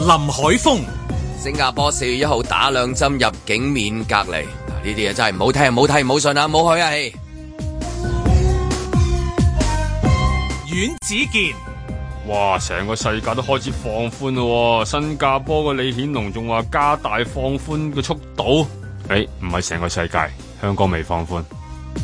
林海峰。 新加坡4月1號打2針入境免隔離，呢啲嘢真係唔好聽、唔好睇、唔好信啊！唔好去啊！ 阮子健， 哇！成個世界都開始放寬咯，新加坡個李顯龍仲話加大放寬嘅速度。唔係成個世界，香港未放寬。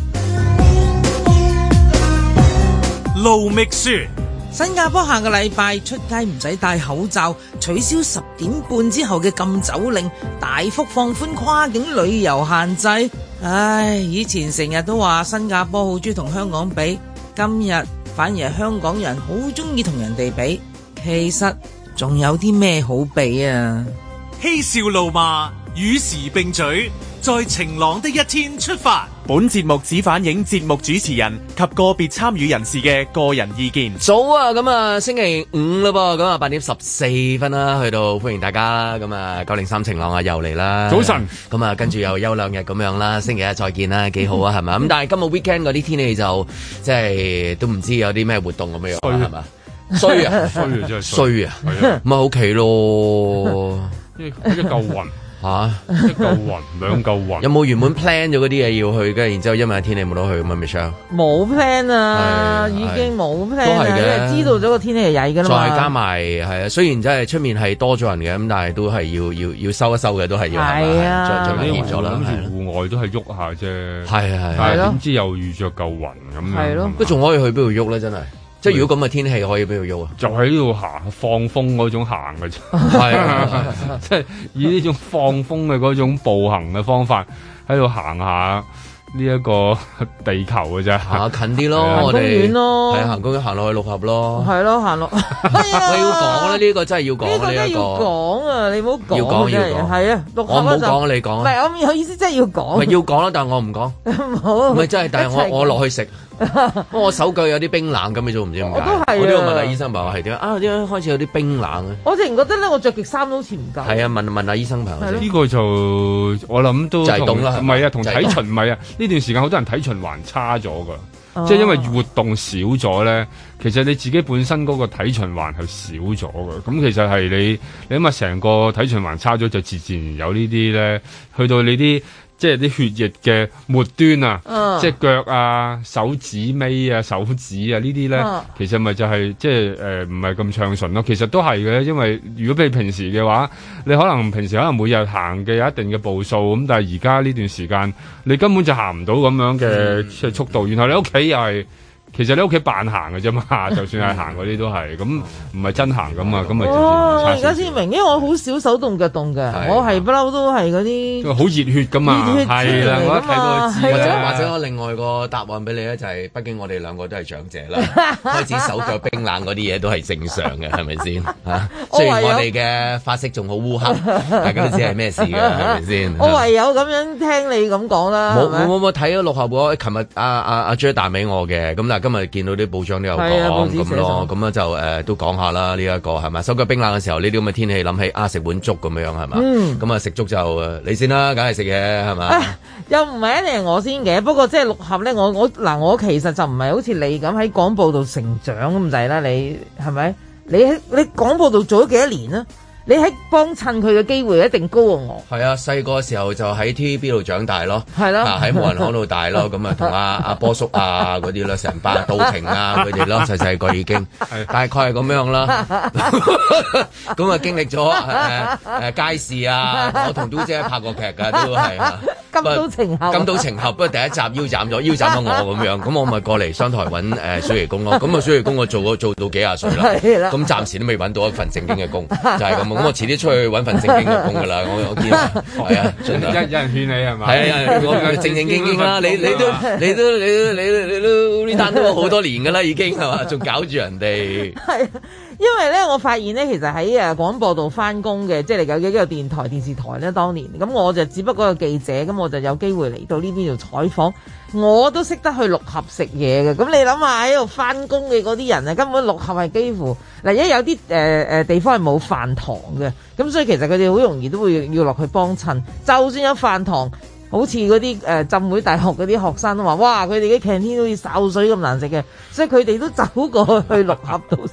盧覓雪， 新加坡下個禮拜出街唔使戴口罩，取消10點半之後嘅禁酒令，大幅放寬跨境旅遊限制。唉，以前成日都話新加坡好中意同香港比，今日反而係香港人好中意同人哋比。其實仲有啲咩好比啊？ 嬉笑怒罵與時並舉，在晴朗的一天出發。 本節目只反映節目主持人及個別參與人士嘅個人意見。 早啊，咁啊星期五啦噃，咁啊8點14分啦，去到歡迎大家啦，咁啊903晴朗啊又嚟啦， 早晨， 咁啊跟住又休2日咁樣啦，星期一再見啦，幾好啊係咪？咁但係今日 weekend 嗰啲天氣就即係都唔知有啲咩活動咁樣係嘛？衰啊衰啊真係衰啊，咁啊屋企咯， 一嚿雲。 吓一嚿雲兩嚿雲， 有冇原本 plan 咗嗰啲嘢要去嘅？然之後因為天氣冇得去咁啊，Michelle 冇 plan 啊，已經冇 plan 啊，因為知道咗個天氣係曳噶啦嘛。 再加埋係啊，雖然真係出面係多咗人嘅，咁但係都係要收一收嘅，都係要係啊， 再熱咗啦。 諗住戶外都係喐下啫， 係但係點知又遇着嚿雲咁樣， 係咯， 都仲可以去邊度喐咧？真係。即係如果咁嘅天氣可以邊度喐啊？就喺呢度行放風嗰種行嘅啫， 係即係以呢種放風嘅嗰種步行嘅方法喺度行下呢一個地球嘅啫， 行近啲咯，我哋公園咯， 係行公園行落去六合咯， 係咯行落。 我要講咧，呢個真係要講呢個要講啊！你唔好講， 要講係啊，六合我唔好講，你講。唔係我有意思，真係要講。 唔係要講啦，但係我唔講。 唔好。 唔係真係，但係我落去食。我手腳有啲冰冷咁，你做唔知點解？我都要問下醫生朋友係點啊？點解開始有啲冰冷咧？ 我突然覺得咧，我着極衫都好似唔夠。 係啊，問下醫生朋友。 呢個就我諗都就係凍啦， 唔係啊，同體循唔係啊。呢段時間好多人體循環差咗㗎，即係因為活動少咗咧。其實你自己本身嗰個體循環係少咗㗎。咁其實係你諗下成個體循環差咗，就自然有呢啲咧，去到你啲。即係啲血液嘅末端啊，即係腳啊、手指尾啊、手指啊呢啲咧，其實咪就係即係唔係咁暢順咯。其實都係嘅，因為如果你平時嘅話，你可能平時可能每日行嘅有一定嘅步數咁，但係而家呢段時間你根本就行唔到咁樣嘅即係速度，然後你屋企又係。其實你屋企扮行嘅啫嘛，就算係行嗰啲都係，咁唔係真行咁啊，咁咪自然差少少。 而家先明，因為我好少手動腳動嘅，我係不嬲都係嗰啲好熱血噶嘛，係啦，我一睇到知。 或者我另外個答案俾你咧，就係畢竟我哋兩個都係長者啦，開始手腳冰冷嗰啲嘢都係正常嘅，係咪先嚇？雖然我哋嘅髮色仲好烏黑，大家都知係咩事嘅，係咪先？ 我唯有咁樣聽你咁講啦。 冇睇咗六合喎，琴日阿 J 打俾我嘅，咁但係今日見到啲報章都有講咁咯，咁啊就都講下啦，呢一個係咪手腳冰冷嘅時候，呢啲咁嘅天氣諗起食碗粥咁樣係嘛？咁啊食粥就你先啦，梗係食嘢係嘛？ 又唔係一定係我先嘅，不過即係六合咧，我其實就唔係好似你咁喺廣播度成長咁滯啦，你係咪？你廣播度做咗幾多年啊？你喺幫襯佢嘅機會一定高過我。係啊，細個時候就喺 TVB 度長大咯， 係咯， 喺無人行度大咯，咁啊同阿波叔啊嗰啲咯，成班杜婷啊佢哋咯，細個已經大概係咁樣啦。咁啊經歷咗街市啊，我同嘟姐拍過劇㗎，都係金刀情俠。金刀情俠不過第一集腰斬咗我咁樣，咁我咪過嚟商台揾暑期工咯。咁啊暑期工我做到幾廿歲啦，咁暫時都未揾到一份正經嘅工，就係咁。咁我遲啲出去揾份正經嘅工㗎啦，我見係啊， 有人勸你係嘛？ 係啊，我正正經經啦，你都呢單都好多年㗎啦，已經係嘛？仲搞住人哋。 係，因為咧，我發現咧，其實喺廣播度翻工嘅，即係有幾個電台、電視台咧，當年咁我就只不過個記者，咁我就有機會嚟到呢邊度採訪，我都識得去六合食嘢嘅。咁你諗下喺度翻工嘅嗰啲人啊，根本六合係幾乎嗱，因為有啲地方係冇飯堂嘅，咁所以其實佢哋好容易都會要落去幫襯。就算有飯堂，好似嗰啲浸會大學嗰啲學生都話，哇！佢哋嘅 canteen 好似潲水咁難食嘅，所以佢哋都走過去六合度食。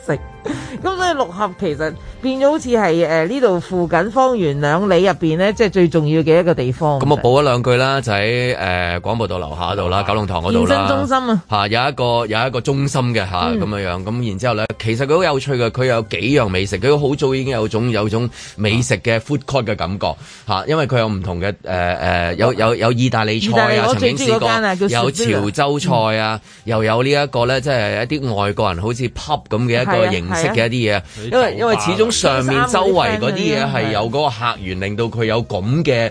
咁所以六合其實變咗好似係呢度附近方圓2里入邊咧，即係最重要嘅一個地方。 咁我補一兩句啦，就喺廣播道樓下度啦，九龍塘嗰度啦。健身中心啊，有一個中心嘅咁樣。咁然之後咧，其實佢好有趣嘅，佢有幾樣美食，佢好早已經有種美食嘅 food court 嘅感覺因為佢有唔同嘅有意大利菜啊，曾經試過有潮州菜啊，又有呢一個咧，即係一啲外國人好似 pub 咁嘅一個形式嘅一啲嘢，因為始終上面周圍嗰啲嘢係有嗰個客源，令到佢有咁嘅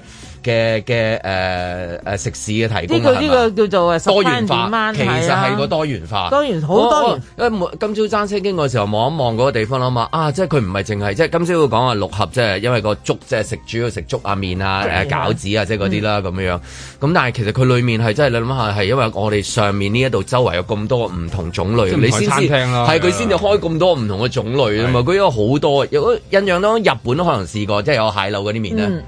食肆嘅提供。呢個叫做多元化，其實係個多元化， 好多元。 因為今朝揸車經過嘅時候望一望嗰個地方啦嘛，即係佢唔係淨係即係今朝會講話六合，即係因為個粥即係主要食粥啊麵啊餃子啊即係嗰啲啦咁樣。咁但係其實佢裡面係真係你諗下係因為我哋上面呢一度周圍有咁多唔同種類，你先至係佢先至開咁多唔同嘅種類啊嘛。佢有好多，有印象當中日本都可能試過，即係有蟹柳嗰啲麵咧。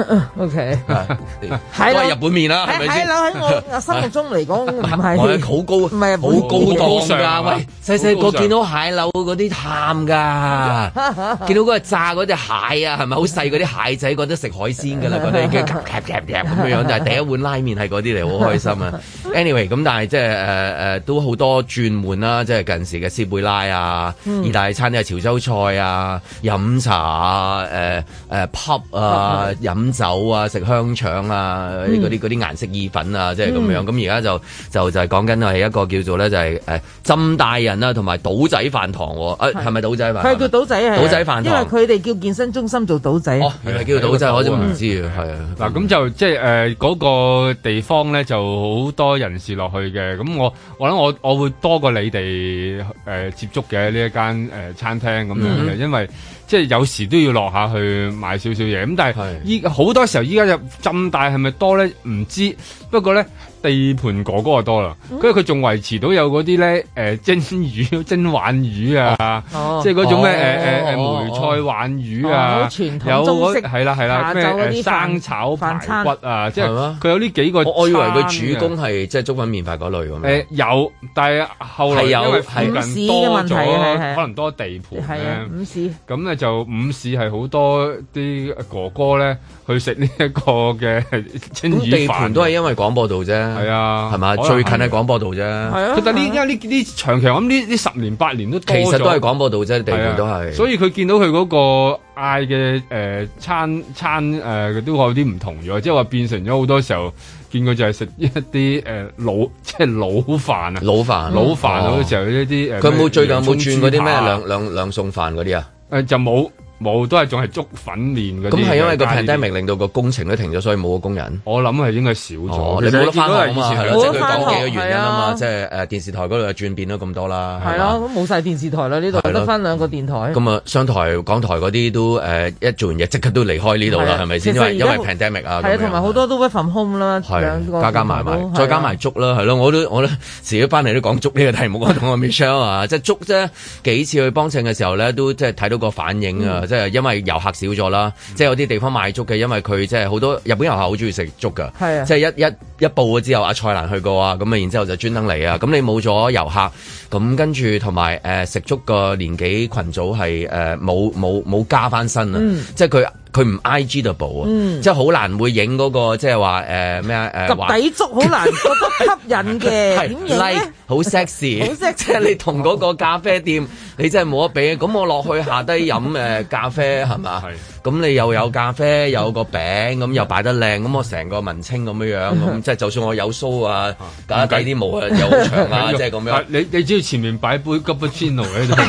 OK。 都係日本麵啦，係咪先？ 蟹柳喺我心目中嚟講唔係好高，唔係好高檔㗎。喂，細細個見到蟹柳嗰啲喊㗎，見到嗰個炸嗰隻蟹啊，係咪好細嗰啲蟹仔覺得食海鮮㗎啦？覺得已經咁樣，但係第一碗拉麵係嗰啲嚟，好開心啊。Anyway， 咁但係即係都好多轉換啦，即係近時嘅斯貝拉啊，意大利餐廳潮州菜啊，飲茶啊，pub 啊，飲酒啊，食香腸啊，嗰啲顏色意粉啊，即係咁樣。咁而家就係講緊係一個叫做咧就係浸大人啊，同埋島仔飯堂喎。係咪島仔飯？ 佢叫島仔係。島仔飯堂。因為佢哋叫健身中心做島仔。 原來叫島仔，我都唔知啊。係啊。 嗱，咁就即係嗰個地方咧，就好多人士落去嘅。咁我諗我會多過你哋接觸嘅呢一間餐廳咁樣嘅，因為即係有時都要落下去買少少嘢。咁但係好多時候依家就浸大係咪多咧？唔知。不過咧地盤哥哥就多啦，跟住佢仲維持到有嗰啲咧蒸魚、蒸鯇魚啊，即係嗰種咩梅菜鯇魚啊，有嗰係啦咩生炒排骨啊，即係佢有呢幾個。 我以為佢主攻係即係粥粉麵飯嗰類咁。 有，但係後來因為附近多咗，可能多地盤咧， 午市咁咧就午市係好多啲哥哥咧去食呢一個嘅蒸魚飯。 地盤都係因為廣播道啫， 係啊， 係嘛？最近係廣播道啫， 係啊。 但係呢長期咁呢10年8年都多咗， 其實都係廣播道啫，地盤都係。 所以佢見到佢嗰個嗌嘅餐都有啲唔同咗，即係話變成咗好多時候見佢就係食一啲即係老飯啊，老飯好多時候一啲佢冇最近有冇轉嗰啲咩兩餸飯嗰啲啊？ 就冇。都係仲係粥粉麵嗰啲。咁係因為個 pandemic 令到個工程都停咗，所以冇個工人。 我諗係應該少咗。 你冇得翻學啊嘛，係咯，即係佢講幾個原因啊嘛，即係電視台嗰度又轉變咗咁多啦。 係咯，咁冇晒電視台啦，呢度得翻2個電台。咁啊，商台、港台嗰啲都一做完嘢即刻都離開呢度啦，係咪先？因為 pandemic 啊。 係啊，同埋好多都 work from home 啦， 加埋，再加埋粥啦，係咯，我都遲啲翻嚟都講粥呢個題目，我同阿 Michelle 啊，即係粥啫，幾次去幫襯嘅時候咧，都即係睇到個反應啊。即係因為遊客少咗啦，即係有啲地方賣粥嘅，因為佢即係好多日本遊客好中意食粥噶，即係一報咗之後，阿蔡瀾去過啊，咁啊，然之後就專登嚟啊，咁你冇咗遊客，咁跟住同埋食粥個年紀群組係冇加翻身啊，即係佢唔 IG-able 啊，即係好難會影嗰個即係話咩啊及底粥好難覺得吸引嘅，點影咧？ 好 sexy，即係你同嗰個咖啡店，你真係冇得比。咁我落去下低飲咖啡係嘛？咁你又有咖啡，有個餅，咁又擺得靚，咁我成個文青咁樣，咁即係就算我有鬚啊，搞低啲毛啊，又好長啊，即係咁樣。 你只要前面擺杯 cappuccino 喺度，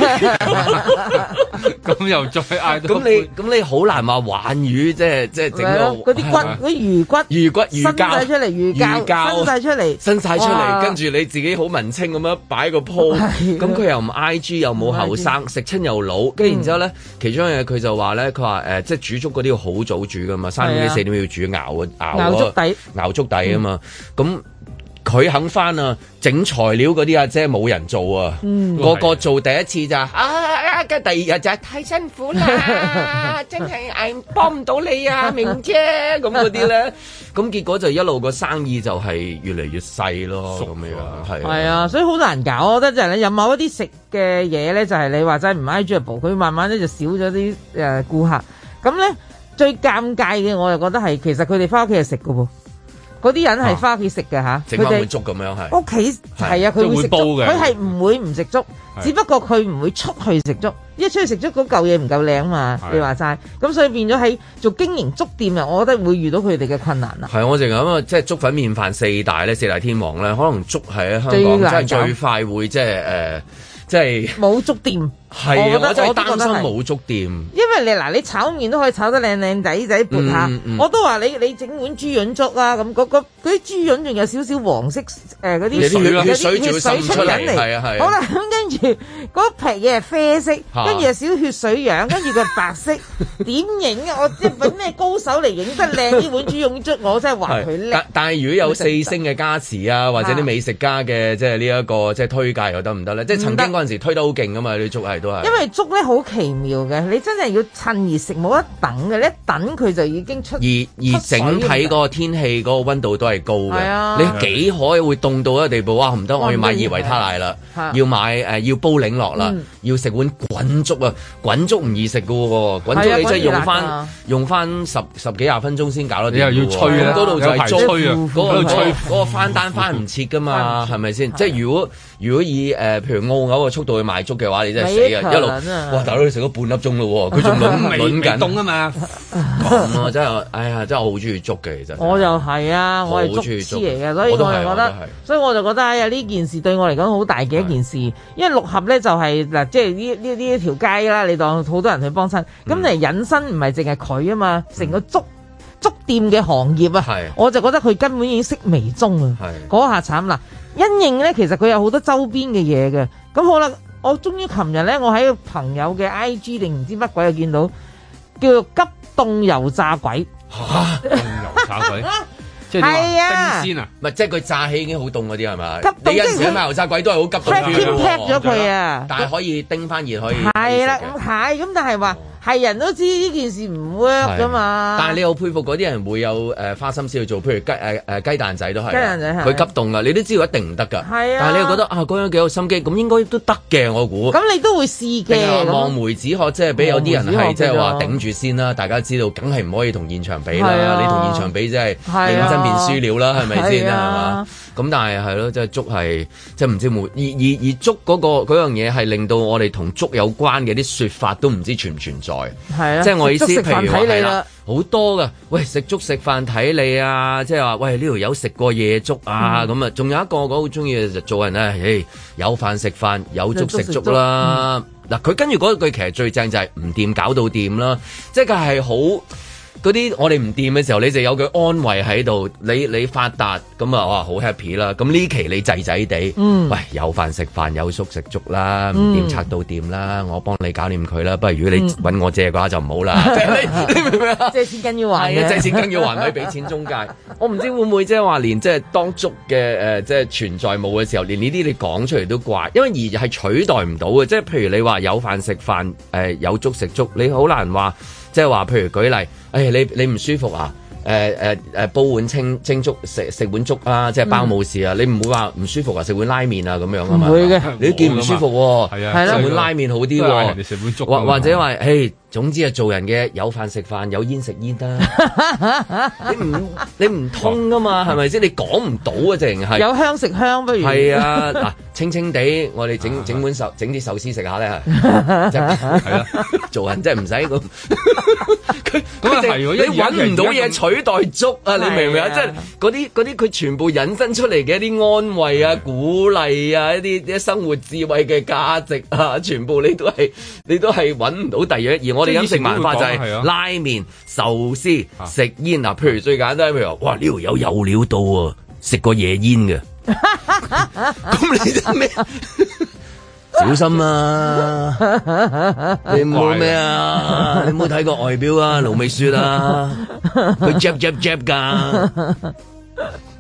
咁又再嗌到。 咁你好難話玩魚，即係整個嗰啲骨嗰啲魚骨伸晒出嚟，魚膠伸晒出嚟，跟住你自己好文青咁樣擺個鋪，咁佢又唔 IG 又冇後生，食親又老，跟住然之後咧，其中一樣嘢佢就話咧，佢話即係煮粥嗰啲要好早煮噶嘛，3點幾4點要煮熬粥底啊嘛，咁佢肯翻啊，整材料嗰啲阿姐冇人做啊，個做第一次咋跟第二日就係太辛苦啦，真係幫唔到你啊，明姐咁嗰啲咧，咁結果就一路個生意就係越嚟越細咯，咁樣係啊， 所以好難搞，我覺得就係你有某一啲食嘅嘢咧，就係你話齋唔 enjoyable，佢慢慢咧就少咗啲顧客，咁咧最尷尬嘅我就覺得係其實佢哋翻屋企係食㗎喎。嗰啲人係翻屋企食嘅嚇， 整翻碗粥咁樣係。屋企係啊，佢會食粥嘅，佢係唔會唔食粥，只不過佢唔會出去食粥，因為出去食粥嗰嚿嘢唔夠靚嘛。你話齋，咁所以變咗喺做經營粥店啊，我覺得會遇到佢哋嘅困難啦。 係我淨係咁啊，即係粥粉麵飯四大天王咧，可能粥係喺香港即係最快會即係冇粥店。 係啊，我真係擔心冇粥店。 因為你炒麵都可以炒得靚仔撥下，我都話你整碗豬潤粥啊，咁嗰啲豬潤仲有少少黃色嗰啲血水出緊嚟，係啊。好啦，咁跟住嗰皮嘢係啡色，跟住有少少血水樣，跟住佢係白色，點影啊？我即係揾咩高手嚟影得靚呢碗豬潤粥？我真係話佢叻。但係如果有4星嘅加持啊，或者啲美食家嘅即係呢一個即係推介又得唔得咧？即係曾經嗰陣時推得好勁噶嘛，啲粥係。 因為粥咧好奇妙嘅，你真係要趁熱食，冇得等嘅，你一等佢就已經出。而整體嗰個天氣嗰個溫度都係高嘅，你幾可會凍到一個地步？哇，唔得，我要買熱維他奶啦，要買要煲檸樂啦，要食碗滾粥啊！滾粥唔易食噶喎，滾粥你真係用翻十幾廿分鐘先搞得掂。你又要吹啊，嗰度就係吹啊，嗰個翻單翻唔切噶嘛，係咪先？即係如果以譬如澳牛嘅速度去賣粥嘅話，你真係死啊！一路哇，大佬你食咗半粒鐘咯，佢仲輪緊凍啊嘛！咁啊，真係，哎呀，真係我好中意粥嘅，其實。我就係啊，我係粥痴嚟嘅，所以我就覺得，所以我就覺得哎呀，呢件事對我嚟講好大嘅一件事，因為六合咧就係嗱，即係呢一條街啦，你當好多人去幫襯，咁嚟引申唔係淨係佢啊嘛，成個粥店嘅行業啊，我就覺得佢根本已經式微終啊，嗰下慘啦！因應咧，其實佢有好多周邊嘅嘢嘅，咁好啦。我終於琴日咧，我喺朋友嘅 IG 定唔知乜鬼又見到，叫做急凍油炸鬼。嚇！凍油炸鬼，即係冰鮮啊？唔係，即係佢炸起已經好凍嗰啲係咪？你有時買油炸鬼都係好急凍咗佢啊！但係可以叮翻熱可以。係啦，咁但係話。係人都知呢件事唔 work 噶嘛，但係你又佩服嗰啲人會有花心思去做，譬如雞蛋仔都係，雞蛋仔佢急凍噶，你都知道一定唔得噶。係啊，但係你又覺得啊，嗰樣幾有心機，咁應該都得嘅，我估。咁你都會試嘅。望梅止渴，即係俾有啲人係即係話頂住先啦。大家知道，梗係唔可以同現場比啦。你同現場比，即係認真變輸了啦，係咪先係嘛？咁但係係咯，即係粥係即係唔知冇而粥嗰樣嘢係令到我哋同粥有關嘅啲説法都唔知存唔存在。係啊，即係我意思，譬如話係啦，好多噶，喂，食粥食飯睇你啊，即係話喂，呢條友食過夜粥啊，咁啊，仲有一個我好中意嘅就做人咧，有飯食飯，有粥食粥啦。嗱，佢跟住嗰句其實最正就係唔掂搞到掂啦，即係佢係好。嗰啲我哋唔掂嘅時候，你就有句安慰喺度，你發達咁啊，哇好 happy 啦！咁呢期你滯滯地，喂有飯食飯，有粥食粥啦，唔掂拆到掂啦，我幫你搞掂佢啦。不過如果你揾我借嘅話就唔好啦。你明唔明啊？借錢梗要還嘅，借錢梗要還，咪俾錢中介。我唔知會唔會即係話連即係當粥嘅即係存在冇嘅時候，連呢啲你講出嚟都怪，因為而係取代唔到嘅。即係譬如你話有飯食飯，有粥食粥，你好難話。即係話，譬如舉例，你唔舒服啊？煲碗清粥食碗粥啊，即係包冇事啊！你唔會話唔舒服啊，食碗拉麵啊咁樣啊嘛？唔會嘅，你都見唔舒服喎，食碗拉麵好啲喎，你食碗粥或者話，總之係做人嘅有飯食飯，有煙食煙啦。你唔通噶嘛？係咪先？你講唔到啊，淨係有香食香不如係啊！嗱，清清地，我哋整碗整啲壽司食下咧，係啦，做人真係唔使咁。你揾唔到嘢取代粥啊！你明唔明啊？即係嗰啲佢全部引申出嚟嘅一啲安慰啊、鼓勵啊、一啲生活智慧嘅價值啊，全部你都係揾唔到第二嘢。而我哋飲食文化就係拉麵、壽司、食煙啊。譬如最簡單，譬如話，哇！呢條友有料到啊，食過夜煙嘅。咁你得咩？小心啊！你冇咩啊？你冇睇過外表啊？盧美雪啊，佢 jab 㗎。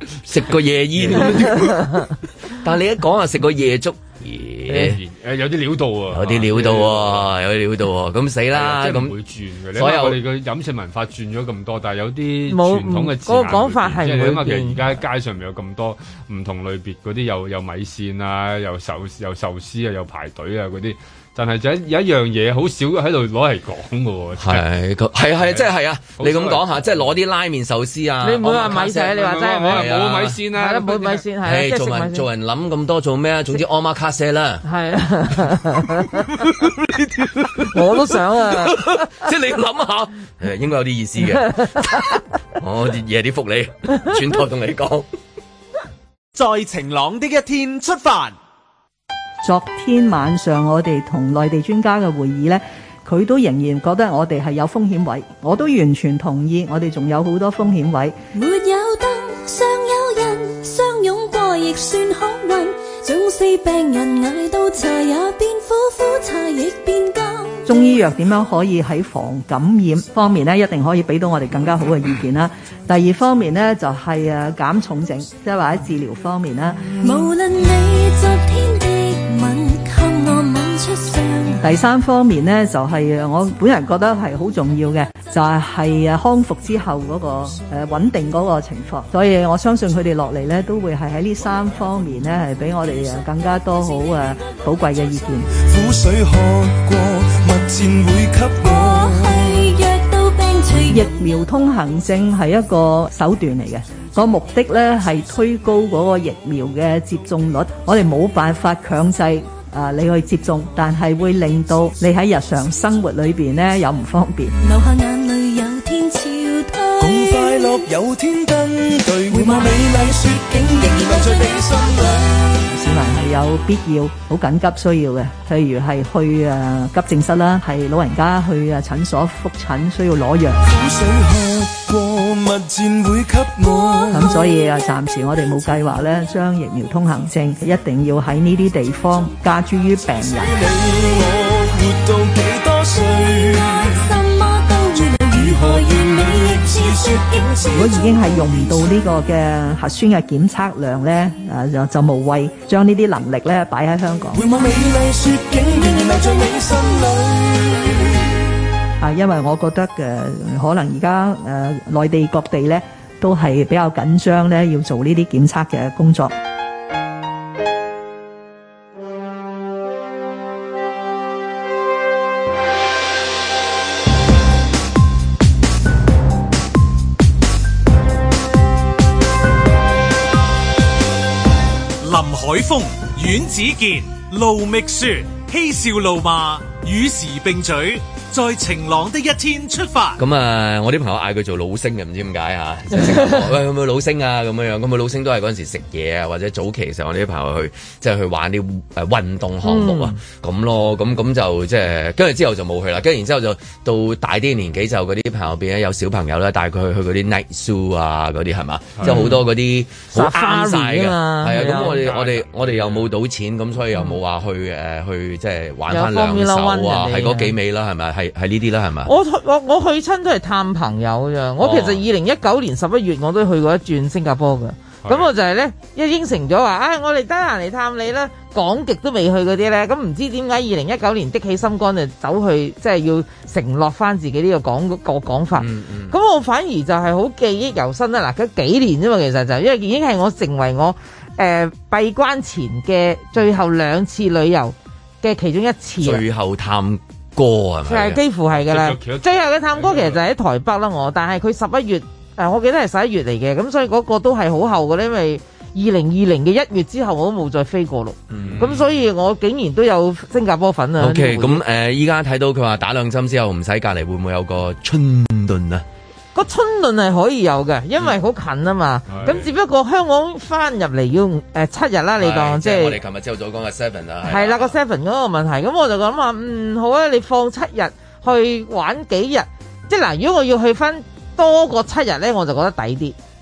食個夜煙，但係你一講啊，食個夜粥。 有啲料到啊， 有啲料到喎，有啲料到喎，咁死啦！咁唔會轉嘅。所有我哋嘅飲食文化轉咗咁多，但係有啲傳統嘅字眼， 嗰個講法係唔會變。 即係你諗下，其實而家喺街上面有咁多唔同類別嗰啲，有米線啊，又壽司啊，又排隊啊嗰啲。但係就有一樣嘢好少喺度攞嚟講嘅喎， 係即係啊！你咁講下，即係攞啲拉麵壽司啊！ 你唔會話米線，你話真係冇米線啊！ 冇米線係做人諗咁多做咩啊？總之阿媽卡西啦，係啊！ 我都想啊！ 即係你諗下，應該有啲意思嘅。我夜啲福利，轉頭同你講。 在晴朗的一天出發。 昨天晚上我哋同內地專家嘅會議呢，佢都仍然覺得我哋係有風險位，我都完全同意，我哋仲有好多風險位。 沒有燈，尚有人，相擁過亦算好運，縱使病人捱到茶也變苦，苦茶亦變甘。 中醫藥點樣可以喺防感染方面呢，一定可以俾到我哋更加好嘅意見啦。第二方面呢，就係減重症，即係話喺治療方面啦。 無論你昨天的吻，給我吻出傷。 第三方面呢，就係我本人覺得係好重要嘅，就係康復之後嗰個穩定嗰個情況。所以我相信佢哋落嚟呢，都會係喺呢三方面呢，係俾我哋更加多好寶貴嘅意見。 苦水喝過，蜜餞會給我。 疫苗通行證係一個手段嚟嘅，個目的呢係推高嗰個疫苗嘅接種率。我哋冇辦法強制你去接種，但係會令到你喺日常生活裏邊呢有唔方便。 流下眼淚有天潮退， 共快樂有天登對，回望美麗雪景仍然留在你心裏。 市民係有必要好緊急需要嘅，譬如係去急症室啦，係老人家去診所覆診需要攞藥。 苦水喝過，蜜餞會給我。 咁所以暫時我哋冇計劃咧，將疫苗通行證一定要喺呢啲地方加諸於病人。 你我活到幾多歲？ 如果已經係用唔到呢個嘅核酸嘅檢測量咧，就無謂將呢啲能力咧擺喺香港。 回望美麗雪景，仍然留在你心裏。 因為我覺得可能而家內地各地咧都係比較緊張咧，要做呢啲檢測嘅工作。 海風、阮子健、盧覓雪，嬉笑怒罵，與時並舉，在晴朗的一天出發。 咁我啲朋友嗌佢做老星嘅，唔知點解啊？喂，有冇老星啊？咁樣咁佢老星都係嗰陣時食嘢啊，或者早期嘅時候，我哋啲朋友去即係去玩啲運動項目啊，咁咯，咁就即係跟住之後就冇去啦。跟住然之後就到大啲年紀就嗰啲朋友變咗有小朋友啦，帶佢去嗰啲 night zoo 啊嗰啲係嘛，即係好多嗰啲好啱晒嘅，係啊。咁我哋又冇賭錢，咁所以又冇話去即係玩翻兩手啊，係嗰幾味啦，係咪？係呢啲啦，係咪？ 我去親都係探朋友咋。我其實2019年11月我都去過一轉新加坡㗎。咁我就係咧一應承咗話，我哋得閒嚟探你啦。講極都未去嗰啲咧，咁唔知點解2019年的起心肝就走去即係要承諾翻自己呢個講法。咁我反而就係好記憶猶新啦。嗱，嗰幾年啫嘛，其實就因為已經係我成為我閉關前嘅最後2次旅遊嘅其中一次。 最後探歌係咪？ 係幾乎係㗎啦。最後嘅探歌其實就喺台北啦，但係佢11月我記得係11月嚟嘅，咁所以嗰個都係好後嘅，因為2020嘅1月之後我都冇再飛過咯。咁所以我竟然都有新加坡粉啊。 OK， 咁依家睇到佢話打2針之後唔使隔離，會唔會有個春頓啊？ 個春頓係可以有嘅，因為好近啊嘛。咁只不過香港翻入嚟要7日啦，你當即係我哋琴日朝早講嘅 7啊。 係啦，個7嗰個問題，咁我就諗話好啊，你放7日去玩幾日，即係嗱，如果我要去翻多過7日咧，我就覺得抵啲。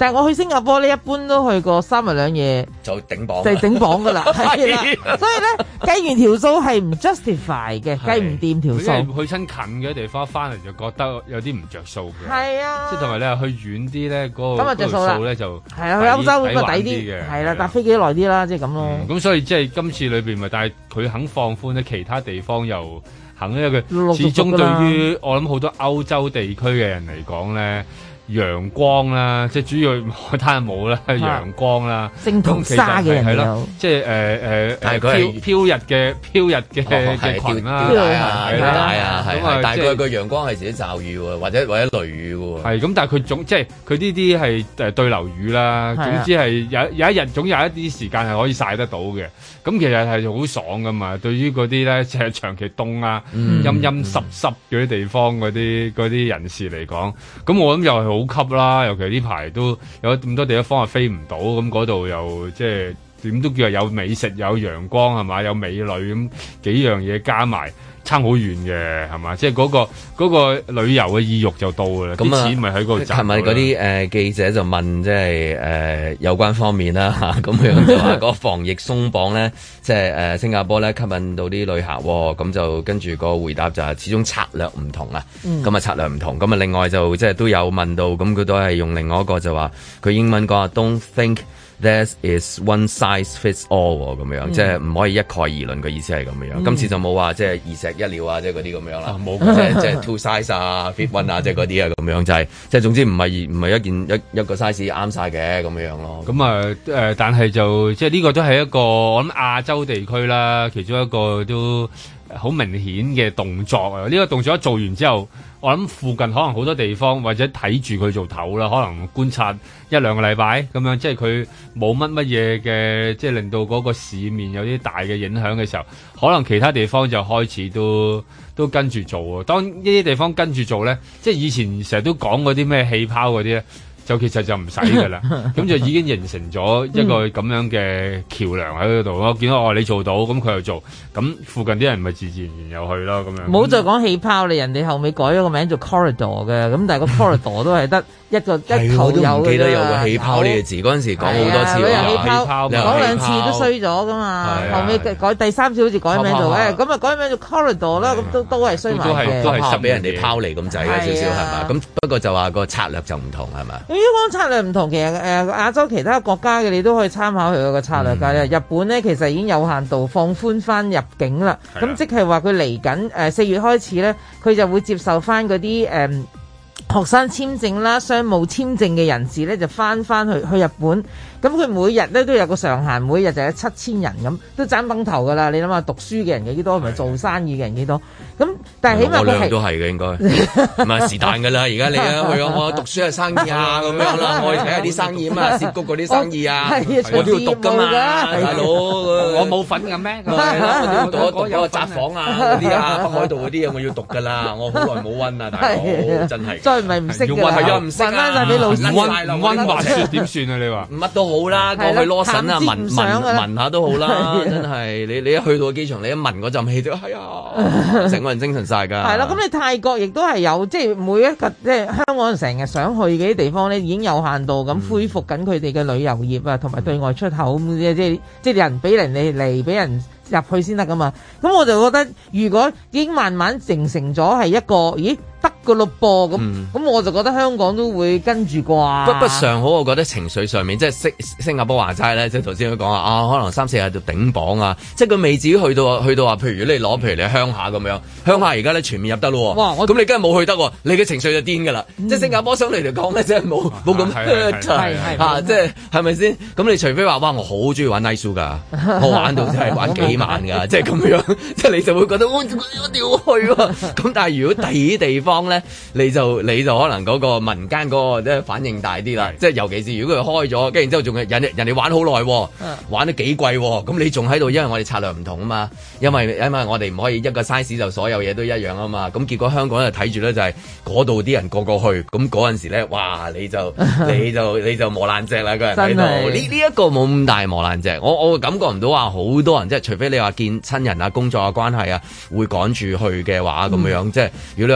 但係我去新加坡呢，一般都去過3日2夜就頂榜， 就係頂榜噶啦，係啦。所以咧計完條數係唔 justify 嘅，計唔掂條數。 去親近嘅地方翻嚟就覺得有啲唔着數嘅。係啊， 即係同埋你去遠啲咧，嗰個着數咧就係啊，去歐洲咁啊抵啲嘅，係啦，搭飛機耐啲啦，即係咁咯。 咁所以即係今次裏邊咪，但係佢肯放寬咧，其他地方又肯，因為佢始終對於我諗好多歐洲地區嘅人嚟講咧。陽光啦，即係主要海灘冇啦，陽光啦， 聖淘沙嘅人有， 即係飄逸嘅裙啦， 係啊，但係佢個陽光係自己驟雨喎，或者雷雨喎。係咁，但係佢總即係佢呢啲係對流雨啦，總之係有一日總有一啲時間係可以曬得到嘅。咁其實係好爽噶嘛。對於嗰啲咧，即係長期凍啊、陰陰濕濕嗰啲地方嗰啲人士嚟講，咁我諗又係好吸啦。尤其呢排都有咁多地方係飛唔到，咁嗰度又即係點都叫有美食、有陽光係嘛，有美女咁幾樣嘢加埋。差好遠嘅係嘛，即係嗰個旅遊嘅意欲就到㗎啦，啲錢咪喺嗰度賺。 係咪嗰啲記者就問即係有關方面啦嚇，咁樣就話嗰個防疫鬆綁咧，即係新加坡咧吸引到啲旅客，咁就跟住個回答就係始終策略唔同啊，咁啊策略唔同，咁啊另外就即係都有問到，咁佢都係用另外一個就話佢英文講 Don't think There is one size fits all 咁樣，即係唔可以一概而論嘅意思係咁樣。今次就冇話即係二石一鳥啊，即係嗰啲咁樣啦。冇即係 two size 啊 ，fit one 啊，即係嗰啲啊咁樣，就係即係總之唔係一個 size 啱晒嘅咁樣咯。 咁啊但係就即係呢個都係一個我諗亞洲地區啦，其中一個都好明顯嘅動作啊！呢個動作一做完之後，我諗附近可能好多地方或者睇住佢做頭啦，可能觀察1-2個禮拜咁樣，即係佢冇乜嘢嘅，即係令到嗰個市面有啲大嘅影響嘅時候，可能其他地方就開始都跟住做啊。當呢啲地方跟住做咧，即係以前成日都講嗰啲咩氣泡嗰啲咧。就其實就唔使㗎啦，咁就已經形成咗一個咁樣嘅橋樑喺嗰度咯。見到你做到，咁佢又做，咁附近啲人咪自然又去咯咁樣。 唔好再講氣泡，你人哋後尾改咗個名做 corridor 嘅，咁但係個 corridor 都係得一頭有嘅。 唔記得有個氣泡呢個字，嗰陣時講好多次氣泡講2次都衰咗噶嘛。後尾改第3次好似改名做咁啊改名做 corridor 啦，咁都係衰埋嘅。 都係俾人哋拋離咁滯嘅少少係嘛？咁不過就話個策略就唔同係嘛？ 如果講策略唔同，其實亞洲其他國家嘅你都可以參考佢個策略㗎。日本咧其實已經有限度放寬翻入境啦，咁即係話佢嚟緊4月開始咧，佢就會接受翻嗰啲學生簽證啦、商務簽證嘅人士咧就翻去日本。咁佢每日咧都有個上限，每日就有7000人咁，都爭崩頭噶啦！你諗下，讀書嘅人幾多，同埋做生意嘅人幾多？咁但係起碼我兩都係嘅應該，唔係是但噶啦！而家你去我讀書係生意啊咁樣啦，我去睇下啲生意啊嘛，涉谷嗰啲生意啊，我都要讀噶嘛，大佬我冇份嘅咩？我讀有個札幌啊嗰啲啊，北海道嗰啲啊，我要讀噶啦，我好耐冇溫啊，大佬真係再唔係唔識㗎， 係啊唔識翻晒俾老師， 溫滑雪點算啊？你話乜都好啦，過去攞神啊，聞下都好啦，真係你一去到機場，你一聞嗰陣氣就係啊，成個人精神晒㗎。 係啦，咁你泰國亦都係有，即係每一個即係香港人成日想去嘅啲地方咧，已經有限度咁恢復緊佢哋嘅旅遊業啊，同埋對外出口咁即係人俾人哋嚟俾人入去先得㗎嘛。咁我就覺得，如果已經慢慢形成咗係一個，咦？得個咯噃咁，我就覺得香港都會跟住啩。 不上好，我覺得情緒上面即係新加坡話齋咧，即係頭先佢講啊，可能3-4日就頂榜啊，即係佢未至於去到話，譬如你攞譬如你鄉下咁樣，鄉下而家咧全面入得咯。哇！咁你梗係冇去得喎，你嘅情緒就癲㗎啦。即係新加坡相對嚟講咧，真係冇咁即係係咪先？咁你除非話哇，我好中意玩 night show 㗎，我玩到真係玩幾萬㗎，即係咁樣，即係你就會覺得我一定要去喎。咁但係如果第二啲地方咧，你就可能嗰個民間嗰個即係反應大啲啦，即係尤其是如果佢開咗，跟住之後仲係人哋玩好耐，玩得幾貴，咁你仲喺度，因為我哋策略唔同啊嘛，因為我哋唔可以一個 size 就所有嘢都一樣啊嘛，咁結果香港就睇住咧就係嗰度啲人個個去，咁嗰陣時咧，哇你就磨爛隻啦，個人喺度，呢一個冇咁大磨爛隻，我感覺唔到話好多人，即係除非你話見親人啊、工作啊關係啊會趕住去嘅話咁樣，即係如果你話即係一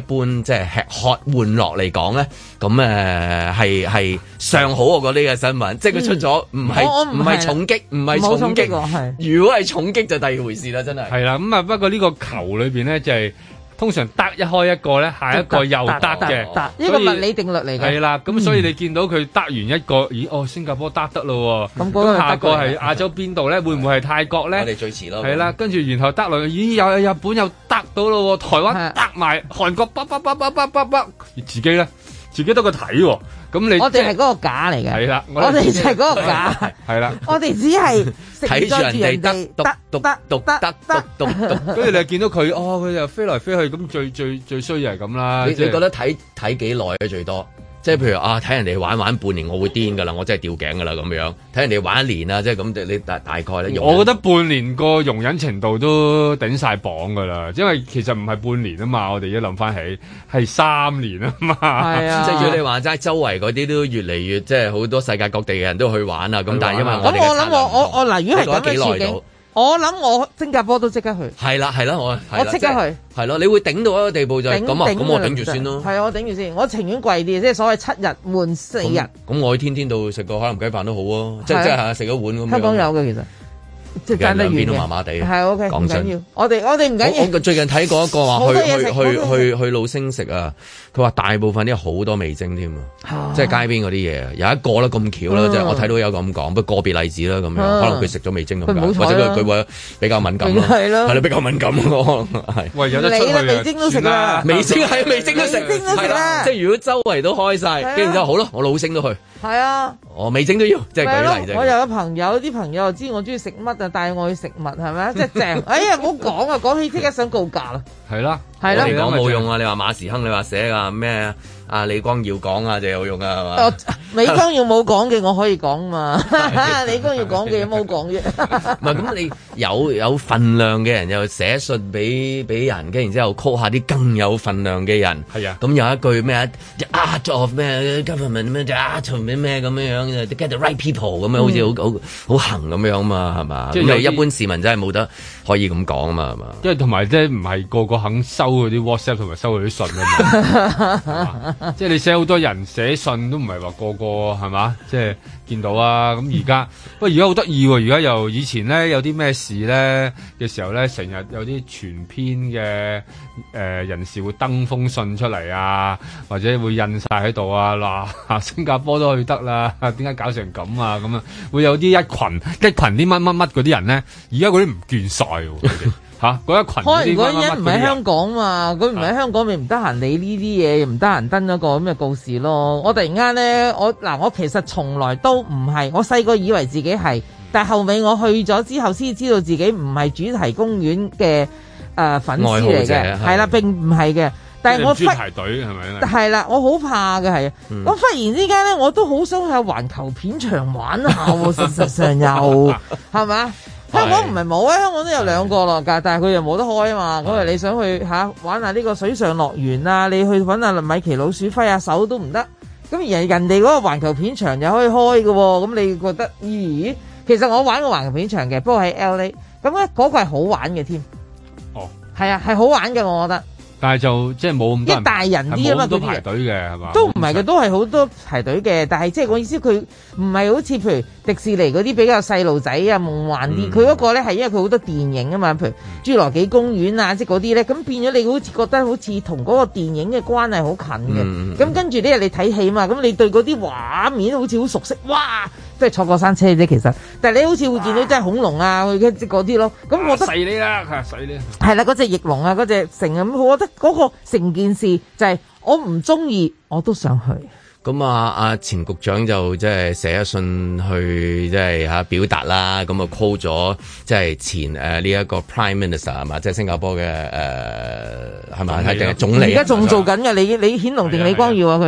般即係吃喝玩樂嚟講咧，咁係尚好我覺得呢個新聞，即係佢出咗唔係重擊，唔係重擊，如果係重擊就第二回事啦，真係。 係啦，咁啊不過呢個球裏邊咧就係。通常得一開一個咧，下一個又得嘅， 呢個物理定律嚟嘅。 係啦，咁所以你見到佢得完一個，咦？新加坡得咯喎，咁下個係亞洲邊度咧？會唔會係泰國咧？ 我哋最遲咯。係啦，跟住然後得落去，咦？有日本又得到咯喎，台灣得埋，韓國自己咧，自己得個睇喎。咁你我哋係嗰個假嚟嘅， 係啦， 我哋就係嗰個假， 係啦， 我哋只係睇住人哋得， 跟住你見到佢，佢又飛來飛去，咁最衰就係咁啦。 你覺得睇幾耐咧最多？即係譬如睇人哋玩半年，我會癲噶啦，我真係吊頸噶啦咁樣。睇人哋玩一年啊，即係咁，你大概咧。 我覺得半年個容忍程度都頂晒磅噶啦，因為其實唔係半年啊嘛，我哋一諗翻起係3年啊嘛。係啊，即係如果你話齋，周圍嗰啲都越嚟越即係好多世界各地嘅人都去玩啊。咁但係因為我哋我諗我嗱，如果係咁嘅處境。我諗我新加坡都即刻去。係啦， 我即刻去。 係咯，你會頂到一個地步就係咁啊，咁我頂住先咯。 係啊，我頂住先，我情願貴啲，即係所謂7日換4日。 咁我去天度食個海南雞飯都好啊，即係食一碗咁樣。 香港有嘅其實。即係爭得遠嘅， 都麻麻地。 係 OK，唔緊要。我哋唔緊要。 我最近睇過一個話去老星食啊，佢話大部分啲好多味精添啊，即係街邊嗰啲嘢。有一個啦咁巧啦，即係我睇到有咁講，不過個別例子啦咁樣，可能佢食咗味精咁解，或者佢會比較敏感咯。係咯，比較敏感咯，係。 喂，有得出去啊！ 味精都食啦， 味精都食啦。即係如果周圍都開晒，跟住之後好咯，我老星都去。 係啊， 我味精都要，即係舉例啫。 我有個朋友，啲朋友就知我中意食乜啊，帶我去食物係咪？即係正。哎呀，唔好講啊，講起即刻想告假啦。 係啦， 我哋講冇用啊！你話馬時亨，你話寫啊咩啊？李光耀講啊，就有用啊，係嘛？ 李光耀冇講嘅，我可以講嘛。李光耀講嘅冇講啫。 唔係咁，你有份量嘅人又寫信俾人，跟然之後 call 下啲更有份量嘅人。 係啊。 咁有一句咩 art of 咩 government 咩 art of 咩咁樣 get the right people 咁樣，好似好行咁樣嘛，係嘛？即係一般市民真係冇得可以咁講啊嘛，係嘛？ 因為同埋即係唔係個個肯收嗰啲 WhatsApp 同埋收嗰啲信啊嘛。即係你寫好多人寫信都唔係話個個係嘛？即係見到啊！咁而家不過而家好得意喎！而家又以前咧有啲咩事咧嘅時候咧，成日有啲全篇嘅人士會登封信出嚟啊，或者會印晒喺度啊！嗱，新加坡都去得啦，點解搞成咁啊？咁啊，會有啲一群啲乜嗰啲人咧，而家嗰啲唔見晒喎。嚇！嗰一群可能嗰啲人唔喺香港嘛，佢唔喺香港咪唔得閒理呢啲嘢，唔得閒登一個咁嘅告示咯。我突然間咧，我其實從來都唔係，我細個以為自己係，但係後尾我去咗之後先知道自己唔係主題公園嘅粉絲嚟嘅，係啦，並唔係嘅。但係我排隊係咪咧？ 係啦，我好怕嘅係，我忽然之間咧，我都好想去環球片場玩下喎。事實上又係咪？香港唔係冇啊，香港都有2個咯，但係佢又冇得開啊嘛。咁你想去玩下呢個水上樂園啊？你去揾下米奇老鼠揮下手都唔得。咁而人哋嗰個環球片場又可以開嘅喎。咁你覺得咦？其實我玩過環球片場嘅，不過喺 LA。咁咧嗰個係好玩嘅添。哦，係啊，係好玩嘅，我覺得。 但係就即係冇咁多人， 一大人啲啊嘛， 都排隊嘅係嘛？ 都唔係嘅，都係好多排隊嘅。但係即係我意思，佢唔係好似譬如迪士尼嗰啲比較細路仔啊夢幻啲。佢嗰個咧係因為佢好多電影啊嘛，譬如侏羅紀公園啊，即係嗰啲咧，咁變咗你好似覺得好似同嗰個電影嘅關係好近嘅。咁跟住呢日你睇戲嘛，咁你對嗰啲畫面好似好熟悉，哇！即係坐過山車啫，其實，但係你好似會見到真係恐龍啊，即嗰啲咯。咁我覺得細你啦，細你係啦，嗰隻翼龍啊，嗰隻成咁，我覺得嗰個成件事就係我唔中意，我都想去。 咁阿前局長就即係寫一信去即係表達啦，咁啊 call 咗即係前呢一個 Prime Minister 係嘛，即係新加坡嘅係咪定係總理？ 而家仲做緊嘅，你顯龍定李光耀啊佢？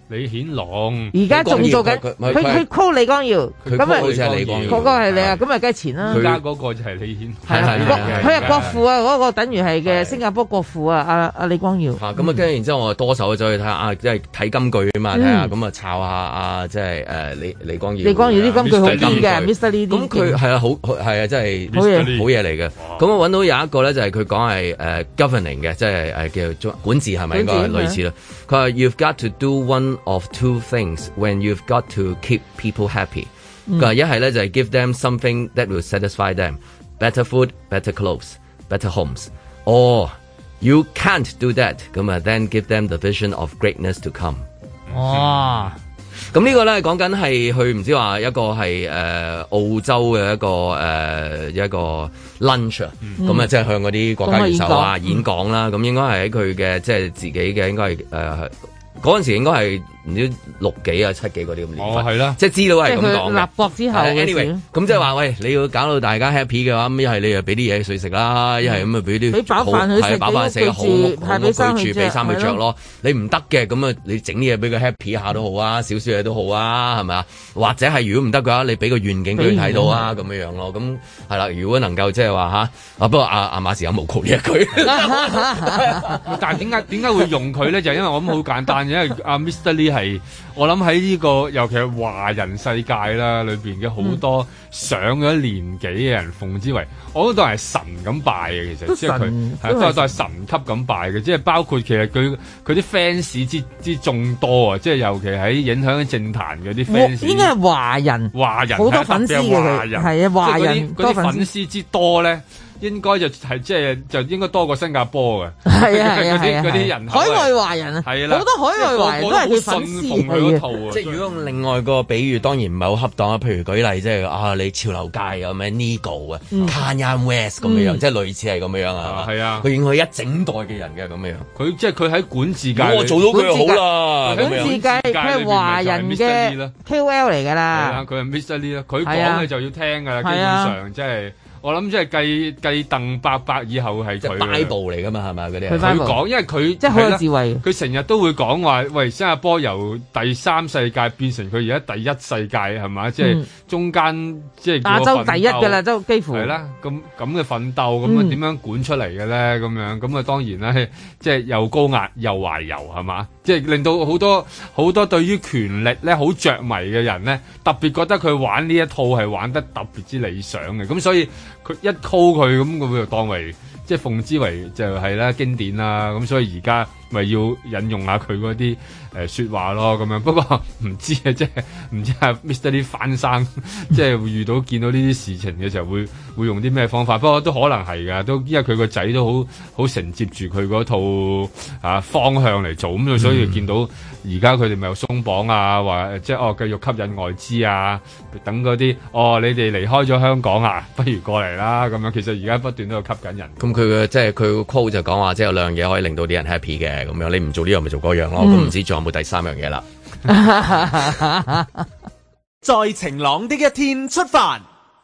李顯龍而家仲做緊，佢 call 李光耀，咁啊， 好似係李光耀， 嗰個係你啊，咁啊，梗係錢啦。 而家嗰個就係李顯， 係佢係國父啊，嗰個等於係嘅新加坡國父啊，阿李光耀。 咁啊，跟住然之後我多手走去睇下即係睇金句啊嘛，睇下咁啊，抄下即係李光耀。 李光耀啲金句好啲嘅 ，Mr. Lee 咁佢係啊，好係啊，真係好嘢嚟嘅。咁我揾到有一個咧，就係佢講係governing 嘅，即係叫做管治係咪應該類似啦？佢話 You've got to do one of two things when you've got to keep people happy。佢話一係咧就係 give them something that will satisfy them， better food, better clothes, better homes。Or you can't do that， 咁啊 then give them the vision of greatness to come。 哇！ 咁呢個咧講緊係佢唔知話一個係澳洲嘅一個 lunch 啊，咁啊即係向嗰啲國家元首啊演講啦，咁應該係喺佢嘅即係自己嘅應該係嗰陣時應該係唔知6幾啊7幾嗰啲咁年份，係啦，即係資料係咁講嘅。立國之後 anyway， 咁即係話喂，你要搞到大家 happy 嘅話，咁一係你又俾啲嘢佢食啦，一係咁啊俾啲飽飯食，好屋居住，俾衫佢着咯。你唔得嘅，咁啊你整啲嘢俾佢 happy 下都好啊，少少嘢都好啊，係咪啊？或者係如果唔得嘅話，你俾個願景俾佢睇到啊，咁樣樣咯。咁係啦，如果能夠即係話不過阿馬時有無窮呢一句。 但係點解會用佢咧？就因為我諗好簡單，因為阿 Mr. Lee 係我諗喺呢個尤其係華人世界啦，裏邊嘅好多上咗年紀嘅人奉之為，我都當係神咁拜嘅。其實即係佢都係神級咁拜嘅，即係包括其實佢啲 fans 之眾多啊！即係尤其喺影響政壇嗰啲 fans， 應該係華人好多粉絲嘅佢，係啊，華人嗰啲粉絲之多咧。應該就係就應該多過新加坡嘅，係啊嗰啲人海外華人啊，係啦，好多海外華人都係佢粉絲嗰套啊。即係如果用另外個比喻，當然唔係好恰當啊。譬如舉例，即係你潮流界有咩 Nigo 啊、Kanye West 咁樣，即係類似係咁樣啊。係啊，佢影響一整代嘅人嘅咁樣。佢即係佢喺管治界， 我做到佢好啦。 管治界佢係華人嘅 KOL 嚟㗎啦。 係啊，佢係 Mr. Lee 啦，佢講嘅就要聽㗎啦，基本上即係。我諗即係繼鄧伯伯以後係佢 Bible 嚟噶嘛，係咪嗰啲？ 佢講，因為佢即係好有智慧。 佢成日都會講話，喂，新加坡由第三世界變成佢而家第一世界，係嘛？即係中間即係亞洲第一㗎啦，都幾乎係啦。咁嘅奮鬥，咁啊點樣管出嚟嘅咧？咁樣咁啊當然咧，即係又高壓又懷柔，係嘛？即係令到好多對於權力咧好着迷嘅人咧，特別覺得佢玩呢一套係玩得特別之理想嘅。咁所以佢一 call 佢咁，佢就當為即係奉之為就係啦經典啦。咁所以而家咪要引用下佢嗰啲説話咯，咁樣。不過唔知啊，即係唔知阿 Mr. Lee 翻生，即係會見到呢啲事情嘅時候會用啲咩方法？不過都可能係㗎，都因為佢個仔都好承接住佢嗰套方向嚟做，咁所以見到而家佢哋咪有鬆綁啊，話即係繼續吸引外資啊，等嗰啲你哋離開咗香港啊，不如過嚟啦咁樣。其實而家不斷都有吸引人。 咁佢嘅即係佢個 quote 就講話，即係有兩樣嘢可以令到啲人 happy 嘅。咁樣你唔做呢樣咪做嗰樣咯，咁唔知仲有冇第三樣嘢啦？ 在晴朗的一天出發。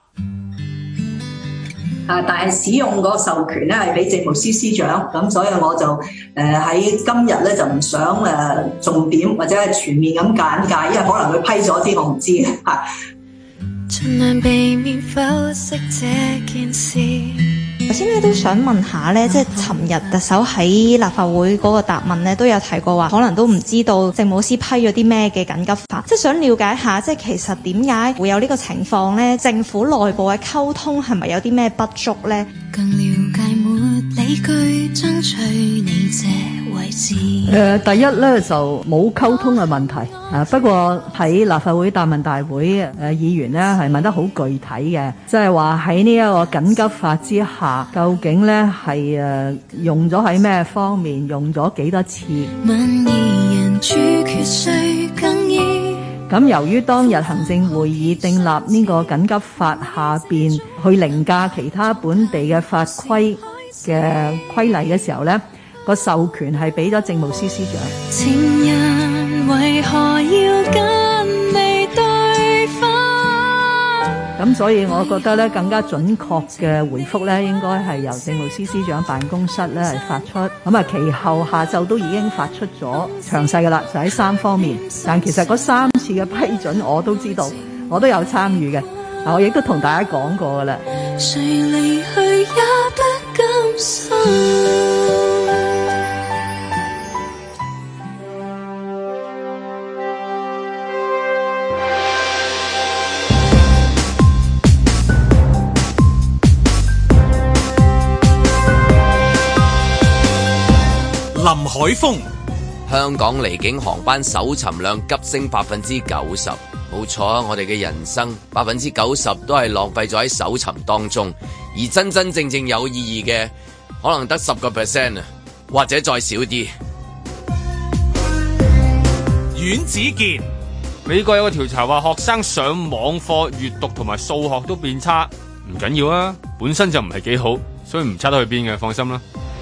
但係使用個授權咧係俾政務司司長，咁所以我就喺今日咧就唔想重點或者係全面咁簡介，因為可能佢批咗啲我唔知嚇。盡量避免剖析這件事。 頭先咧都想問下咧，即係尋日特首喺立法會嗰個答問咧，都有提過話，可能都唔知道政務司批咗啲咩嘅緊急法，即係想了解下，即係其實點解會有呢個情況咧？政府內部嘅溝通係咪有啲咩不足咧？更了解沒理據爭取你這位置。 第一咧就冇溝通嘅問題不過喺立法會答問大會議員咧係問得好具體嘅，即係話喺呢一個緊急法之下，究竟咧係用咗喺咩方面，用咗幾多次？民意人主決誰更易？咁由於當日行政會議訂立呢個緊急法下邊去凌駕其他本地嘅法規嘅規例嘅時候咧，個授權係俾咗政務司司長。情人為何要跟你對分？ 咁所以我覺得咧更加準確嘅回覆咧，應該係由政務司司長辦公室咧係發出。咁啊，其後下晝都已經發出咗詳細㗎啦，就喺3方面。但其實嗰3次嘅批准我都知道，我都有參與嘅。嗱，我亦都同大家講過㗎啦。誰離去也不甘心。 林海峰， 香港離境航班搜尋量急升90%，冇錯啊！我哋嘅人生90%都係浪費咗喺搜尋當中，而真真正正有意義嘅可能得10%啊，或者再少啲。 阮子健， 美國有個調查話，學生上網課閱讀同埋數學都變差，唔緊要啊，本身就唔係幾好，所以唔差得去邊嘅，放心啦。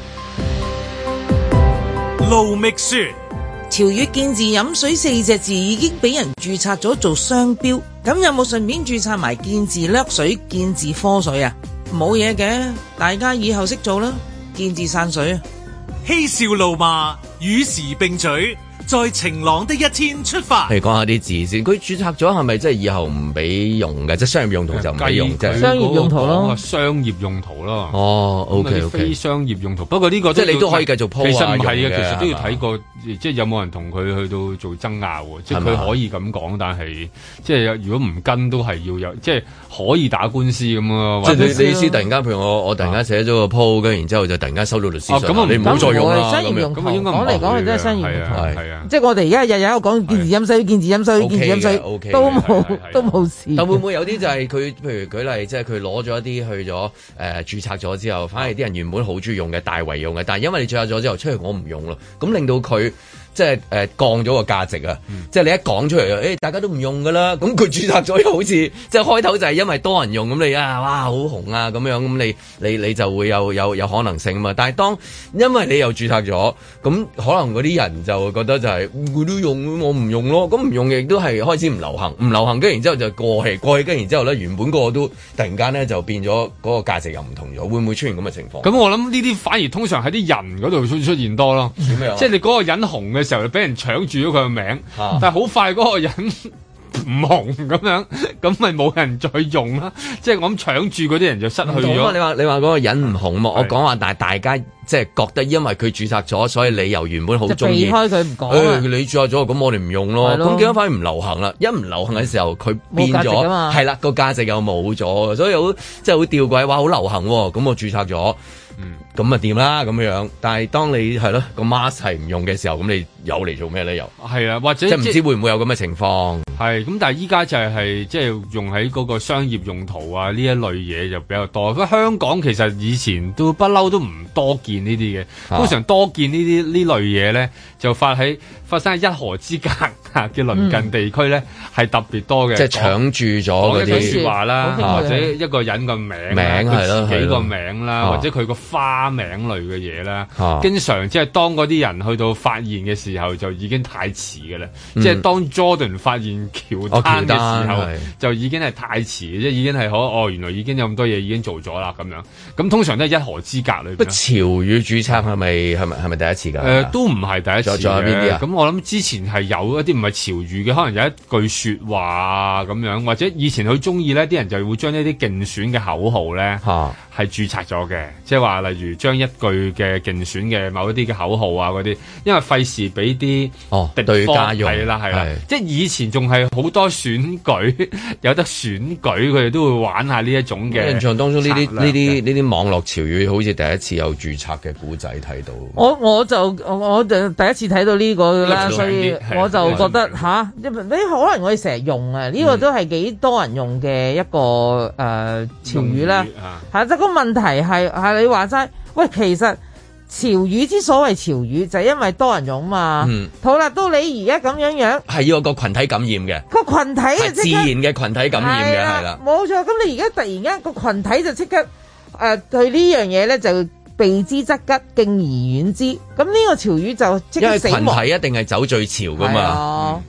盧覓雪， 潮語見字飲水4隻字已經俾人註冊咗做商標，咁有冇順便註冊埋見字掠水、見字科水啊？冇嘢嘅，大家以後識做啦，見字散水啊！ 嬉笑怒罵與時並舉，在晴朗的一天出發。 嚟講下啲字先，佢註冊咗係咪即係以後唔俾用嘅？即係商業用途就唔俾用，即係商業用途咯。 商業用途咯。 哦 ，OK， 非商業用途。不過呢個即係你都可以繼續 po 其實唔係嘅， 其實都要睇過，即係有冇人同佢去到做爭拗。即係佢可以咁講，但係即係如果唔跟都係要有，即係可以打官司咁咯。 即係你意思突然間，譬如我突然間寫咗個 po，跟然之後就突然間收到律師信， 咁你唔好再用啦。 商業用途講嚟講去都係商業用途。 係啊， 即係我哋而家日日喺度講見字飲水、見字飲水、見字飲水，都冇事。 但會唔會有啲就係佢，譬如舉例，即係佢攞咗一啲去咗註冊咗之後，反而啲人原本好中意用嘅，大為用嘅，但係因為你註冊咗之後，出去我唔用咯，咁令到佢。即係降咗個價值啊！即係你一講出嚟，大家都唔用噶啦。咁佢註冊咗又好似即係開頭就係因為多人用，咁你哇好紅啊咁樣，咁你就會有可能性啊嘛。但係當因為你又註冊咗，咁可能嗰啲人就會覺得就係佢都用，我唔用咯。咁唔用亦都係開始唔流行，唔流行跟然之後就過氣，跟然之後咧原本個都突然間咧就變咗嗰個價值又唔同咗，會唔會出現咁嘅情況？ 咁我諗呢啲反而通常喺啲人嗰度出現多咯。點樣？即係你嗰個人紅嘅時候，就俾人搶住咗佢個名，但係好快嗰個人唔紅咁樣，咁咪冇人再用啦。即係我諗搶住嗰啲人就失去咗。 你話嗰個人唔紅嘛？我講話，但係大家即係覺得因為佢註冊咗，所以你由原本好中意， 避開佢唔講。 你註冊咗，咁我哋唔用咯。咁點解反而唔流行啦？一唔流行嘅時候，佢變咗，係啦，個價值又冇咗，所以好即係好吊詭，話好流行喎。咁我註冊咗。咁啊掂啦咁樣，但係當你係咯個 mask 係唔用嘅時候，咁你有嚟做咩咧？又係啊，或者即係唔知會唔會有咁嘅情況？ 係咁，但係依家就係即係用喺嗰個商業用途啊呢一類嘢就比較多。不過香港其實以前都不嬲都唔多見呢啲嘅，通常多見呢類嘢咧就發生喺一河之隔嘅鄰近地區咧係特別多嘅， 即係搶住咗嗰啲説話啦，或者一個人個名係咯，自己個名啦，或者佢個花名類嘅嘢啦，經常即係當嗰啲人去到發現嘅時候，就已經太遲嘅啦。即係當 Jordan 發現喬丹嘅時候，就已經係太遲，即係已經係原來已經有咁多嘢已經做咗啦咁樣。咁通常都係一河之隔裏邊。 潮語註冊係咪第一次㗎？ 都唔係第一次。 仲有邊啲啊？ 咁我諗之前係有一啲唔係潮語嘅，可能有一句説話啊咁樣，或者以前佢中意咧，啲人就會將呢啲競選嘅口號咧係註冊咗嘅，即係話例如將一句嘅競選嘅某一啲嘅口號啊嗰啲，因為費事俾啲對家用， 係啦，即係以前仲係好多選舉有得選舉，佢哋都會玩下呢一種嘅。 印象當中呢啲網絡潮語好似第一次有註冊嘅古仔睇到。 我就第一次睇到呢個啦，所以我就覺得你可能我哋成日用啊，呢個都係幾多人用嘅一個潮語啦。即係個問題係你話齋，喂，其實潮語之所謂潮語就係因為多人用嘛。好啦，到你而家咁樣係要有個群體感染嘅， 個群體係自然嘅群體感染嘅，係啦， 冇錯。咁你而家突然間個群體就即刻對呢樣嘢咧就避之則吉，敬而遠之。咁呢個潮語就即刻死亡。 因為群體一定係走最潮噶嘛。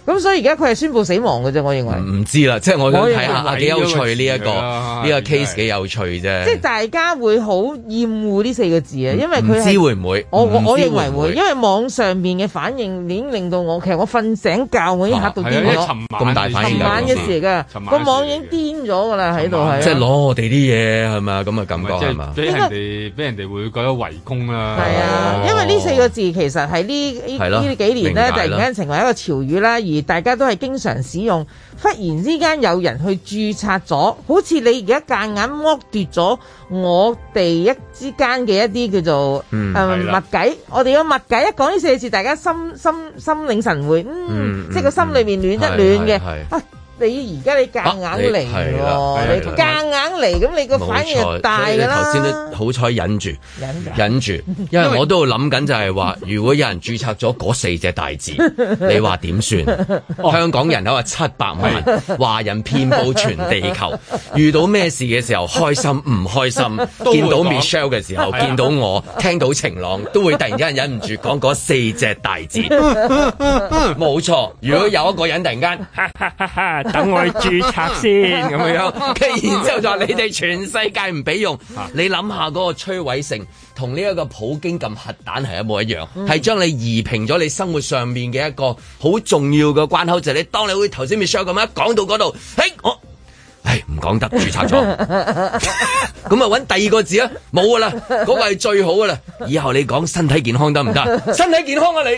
咁所以而家佢係宣布死亡嘅啫，我認為。 唔知啦，即係我想睇下幾有趣呢一個呢個 case 幾有趣啫。 即係大家會好厭惡呢4個字啊，因為佢唔知會唔會？ 我認為會，因為網上面嘅反應已經令到我其實我瞓醒覺我已經嚇到癲咗。 咁大反應， 尋晚嘅事嚟㗎，個網已經癲咗㗎啦喺度係。 即係攞我哋啲嘢係咪啊？咁嘅感覺係嘛？ 俾人哋會覺得圍攻啦。 係啊，因為呢4個字其實係呢幾年咧，突然間成為一個潮語啦，而大家都係經常使用。忽然之間有人去註冊咗，好似你而家夾硬剝奪咗我哋之間嘅一啲叫做密計。我哋嘅密計一講呢4個字，大家心領神會，即係個心裏面暖一暖嘅。你而家你夾硬嚟喎，你夾硬嚟，咁你個反應就大㗎啦。頭先都好彩忍住， 因為我都諗緊就係話，如果有人註冊咗嗰4隻大字，你話點算？香港人口係700萬，華人遍佈全地球，遇到咩事嘅時候，開心唔開心？見到 Michelle 嘅時候，見到我，聽到晴朗，都會突然間忍唔住講嗰4隻大字。冇錯，如果有一個人突然間，等我去註冊先咁樣，跟住然之後就話你哋全世界唔俾用。你諗下嗰個摧毀性，同呢一個普京撳核彈係一模一樣，係將你移平咗你生活上面嘅一個好重要嘅關口，就係你當你會頭先 Michelle 咁樣講到嗰度，唔講得註冊咗，咁啊揾第二個字啊，冇噶啦，嗰個係最好噶啦。以後你講身體健康得唔得？身體健康啊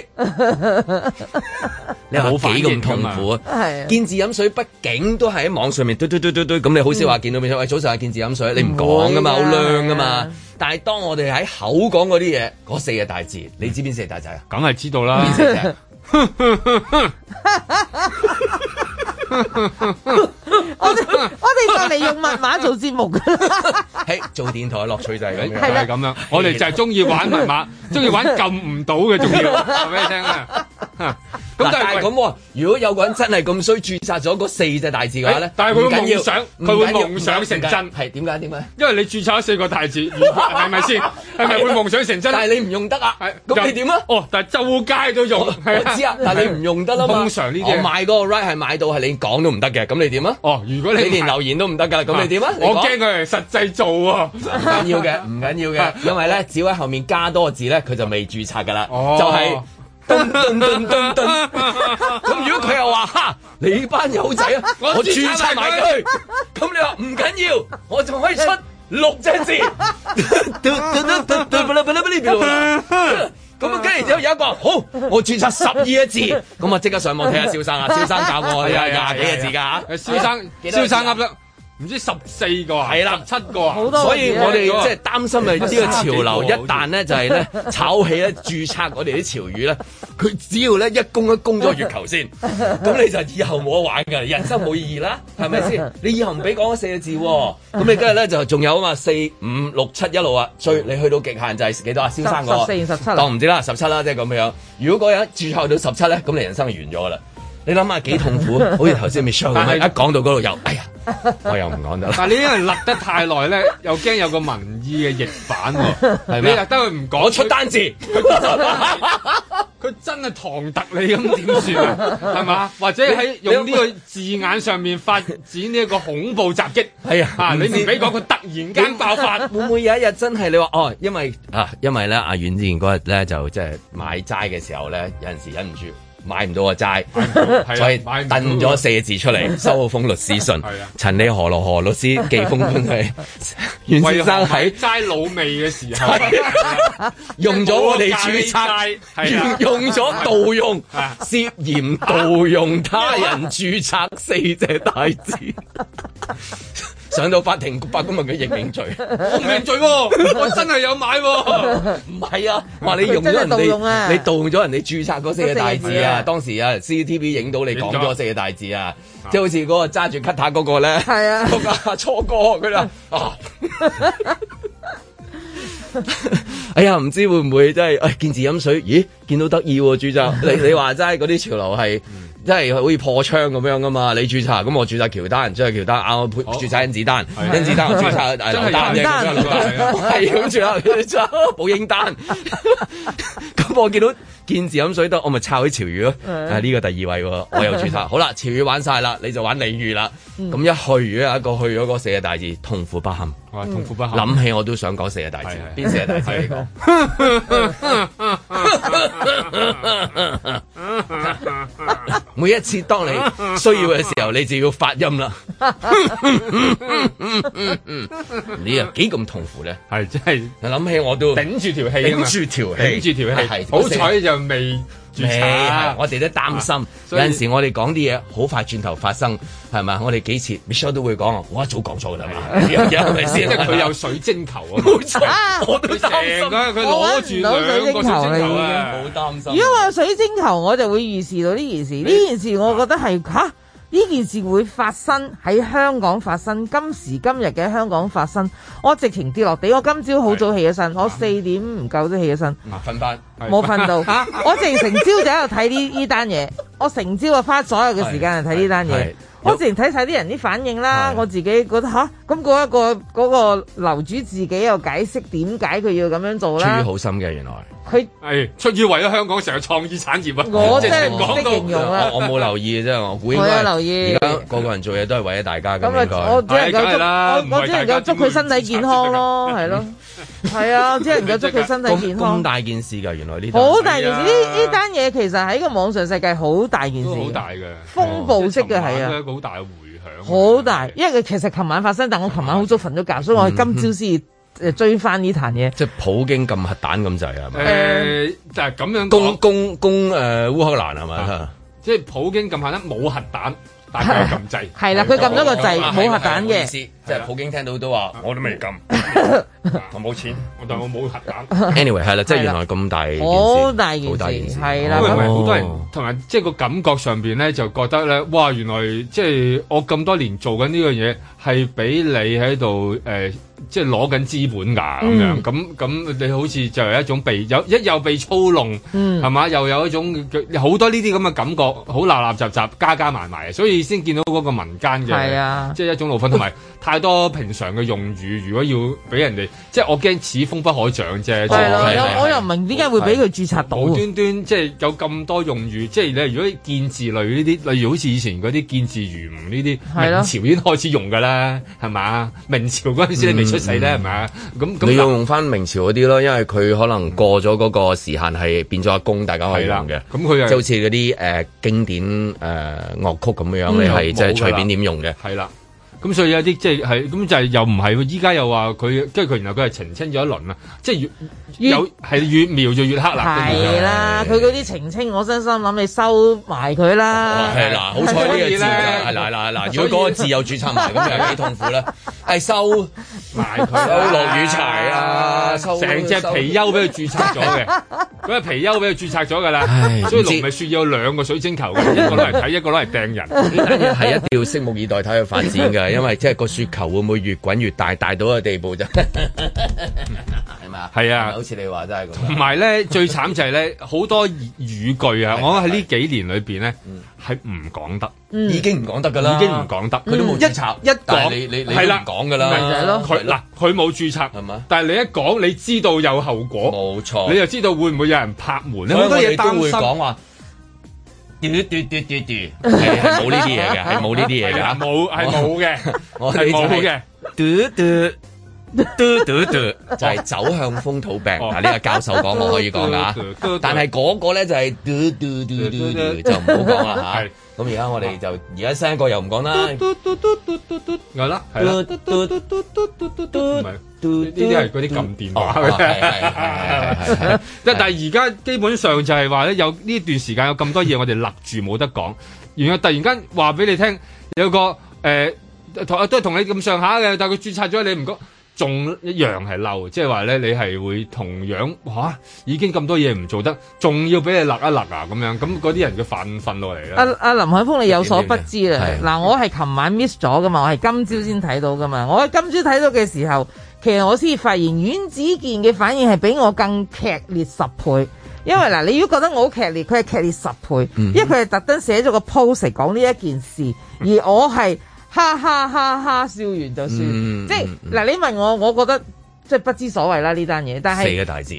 你話幾咁痛苦啊？見字飲水，畢竟都係喺網上面嘟，咁你好少話見到面喂，早上係見字飲水，你唔講噶嘛，好靚噶嘛。但係當我哋喺口講嗰啲嘢，嗰4個大字，你知邊4個大字啊？梗係知道啦。邊4隻？ 我哋就嚟用密碼做節目噶啦， 做電台樂趣就係咁樣， 係咁樣。我哋就係中意玩密碼，中意玩撳唔到嘅，仲要話俾你聽啊！咁但係咁，如果有個人真係咁衰註冊咗嗰4隻大字嘅話咧，但係佢會夢想成真，係點解？因為你註冊咗4個大字，係咪先？係咪會夢想成真？但係你唔用得啊！咁你點啊？但係周街都用，我知啊，但係你唔用得啦嘛。通常呢啲我買嗰個 right 係買到係你講都唔得嘅，咁你點啊？如果你連留言都唔得㗎，咁你點啊？我驚佢係實際做喎，唔緊要嘅，因為咧只要喺後面加多個字咧，佢就未註冊㗎啦，就係。咁如果佢又話你班友仔啊，我註冊埋佢，咁你話唔緊要，我仲可以出6隻字。咁啊，跟住之後有一個好，我註冊12個字，咁啊即刻上網睇下蕭生啊，蕭生教我廿幾個字㗎嚇，蕭生噏得。唔知14個啊，係啦，17個啊，好多。所以我哋即係擔心啊，呢個潮流一旦咧就係咧炒起咧註冊我哋啲潮語咧，佢只要咧一攻咗月球先，咁你就以後冇得玩㗎，人生冇意義啦，係咪先？你以後唔俾講嗰4個字喎，咁你今日咧就仲有啊嘛，4、5、6、7一路啊，最你去到極限就係幾多啊？蕭生個14、17，當唔知啦，17啦，即係咁樣。如果嗰人註冊到17咧，咁你人生就完咗㗎啦。你諗下幾痛苦，好似頭先 Michelle 咁樣，一講到嗰度又，哎呀，我又唔講得啦。但係你因為勒得太耐咧，又驚有個民意嘅逆反喎，係咪？你勒得佢唔講出單字，佢真係唐突你咁點算啊？係嘛？或者喺用呢個字眼上面發展呢一個恐怖襲擊？係啊，你唔俾講佢突然間爆發， 會唔會有一日真係你話因為咧阿遠之前嗰日咧就即係買齋嘅時候咧，有陣時忍唔住。買唔到個齋，所以掟咗4個字出嚟，收咗封律師信。陳李何羅何律師寄封信去袁先生喺齋老味嘅時候， 用咗我哋註冊，用咗盜用，涉嫌盜用他人註冊4隻大字。上到法庭，法官問佢認唔認罪？ 我唔認罪喎，我真係有買喎。 唔係啊，話你用咗人哋，你盜用咗人哋註冊嗰4個大字啊！當時啊 CCTV 影到你講咗4個大字啊，即係好似嗰個揸住 cutter 嗰個咧，係啊，嗰個初哥佢啦啊！哎呀，唔知會唔會真係見字飲水？咦，見到得意喎註冊！你話齋嗰啲潮流係即係好似破窗咁樣噶嘛？你註冊咁我註冊喬丹，即係喬丹我註冊甄子丹，甄子丹我註冊劉丹啫，係咁註冊寶英丹。咁我見到見字飲水得，我咪抄起潮語咯。呢個第二位喎，我又註冊。好啦，潮語玩晒啦，你就玩俚語啦。咁一去如果有一個去咗嗰四個大字，痛苦不堪。 痛苦不堪。 諗起我都想講四個大字，邊四個大字你講？每一次當你需要嘅時候，你就要發音啦。你又幾咁痛苦咧？ 係真係， 諗起我都頂住條氣，頂住條氣。好彩就未註冊， 我哋都擔心。有陣時我哋講啲嘢好快轉頭發生，係咪？我哋幾次 Michelle 都會講，我一早講錯㗎啦嘛。係咪先？ 即係佢有水晶球啊！ 冇錯，我都擔心。 佢攞住兩個水晶球啊！ 好擔心。 如果我有水晶球，我就會預示到呢件事。呢件事我覺得係呢件事會發生喺香港發生，今時今日嘅香港發生，我直情跌落地。我今朝好早起咗身，我4點唔夠都起咗身， 瞓翻冇瞓到。我直情成朝就喺度睇呢單嘢，我成朝就花所有嘅時間嚟睇呢單嘢。我直情睇晒啲人啲反應啦，我自己覺得咁嗰個樓主自己又解釋點解佢要咁樣做啦。 出於好心嘅原來。 佢係出於為咗香港成個創意產業啊！ 我真係唔識形容啊！ 我冇留意嘅啫，我估應該。我有留意。而家個個人做嘢都係為咗大家咁應該。 我只能夠祝佢身體健康咯，係咯，係啊，只能夠祝佢身體健康。 咁大件事㗎，原來呢好大件事，呢單嘢其實喺個網上世界好大件事， 好大嘅風暴式嘅係啊， 一個好大嘅迴響。 好大，因為佢其實琴晚發生，但我琴晚好早瞓咗覺，所以我今朝先追翻呢壇嘢， 即係普京撳核彈咁滯係咪？ 就係咁樣攻烏克蘭係咪？ 即係普京撳核彈冇核彈，但係撳掣。 係啦，佢撳咗個掣冇核彈嘅。 即係普京聽到都話，我都未撳，我冇錢， 但我冇核彈。 Anyway 係啦，即係原來咁大件事， 好大件事，係啦。 因為好多人同埋即係個感覺上邊咧，就覺得咧，哇！原來即係我咁多年做緊呢樣嘢，係俾你喺度即係攞緊資本㗎咁樣，咁你好似就係一種又被操弄，係嘛？又有一種好多呢啲咁嘅感覺，好立立雜雜，加埋埋，所以先見到嗰個民間嘅，即係一種怒憤，同埋太多平常嘅用語，如果要俾人哋，即係我驚此風不可長啫。 係咯，我又唔明點解會俾佢註冊到， 無端端即係有咁多用語，即係你如果見字類呢啲，例如好似以前嗰啲見字如吾呢啲，明朝已經開始用㗎啦，係嘛？明朝嗰陣時你未出世咧，係咪？咁你要用翻明朝嗰啲咯，因為佢可能過咗嗰個時限係變咗阿公，大家可以用嘅。咁佢就好似嗰啲經典樂曲咁樣，你係即係隨便點用嘅。 係啦。咁所以有啲即係咁就係又唔係，依家又話佢，跟住佢然後佢係澄清咗一輪啦，即係越描就越黑啦。 係啦，佢嗰啲澄清，我真心諗你收埋佢啦。 係嗱，好彩呢個字係嗱，如果嗰個字又註冊埋，咁又幾痛苦咧。係收埋佢，收落雨柴啊， 成隻貔貅俾佢註冊咗嘅，嗰隻貔貅俾佢註冊咗㗎啦。所以龍咪説要有兩個水晶球嘅，一個攞嚟睇，一個攞嚟掟人。 呢單嘢係一定要拭目以待睇佢發展㗎。因為即係個雪球會唔會越滾越大，大到個地步就係嘛？ 係啊， 好似你話真係咁。 同埋咧，最慘就係咧，好多語句啊！我喺呢幾年裏邊咧係唔講得， 已經唔講得㗎啦， 已經唔講得，佢都冇註冊。一講你係啦，講㗎啦， 係咯。 佢冇註冊係嘛？但係你一講，你知道有後果， 冇錯， 你就知道會唔會有人拍門咧？ 好多嘢都會講話。嘟係冇呢啲嘢嘅，係冇呢啲嘢嘅， 冇嘅， 我係冇嘅。嘟就係走向風土病。嗱，呢個教授講我可以講㗎，但係嗰個咧就係嘟就唔好講啦嚇。咁而家我哋就而家新一個又唔講啦。 係啦，係啦。呢啲係嗰啲撳電話嘅，但係而家基本上就係話咧，有呢段時間有咁多嘢我哋勒住冇得講，然後突然間話俾你聽有個都係同你咁上下嘅，但係佢註冊咗你唔講，仲一樣係嬲，即係話咧你係會同樣已經咁多嘢唔做得，仲要俾你勒一勒啊咁樣，咁嗰啲人嘅憤落嚟啦。 阿林海峰，你有所不知啦，嗱，我係琴晚 miss 咗噶嘛，我係今朝先睇到噶嘛，我喺今朝睇到嘅時候。其實我先發現阮子健嘅反應係比我更劇烈10倍， 因為嗱，你如果覺得我好劇烈，佢係劇烈10倍，因為佢係特登寫咗個 post 嚟講呢一件事，而我係哈哈哈哈笑完就算，即係嗱，你問我覺得即係不知所謂啦呢單嘢，但係4 個大字，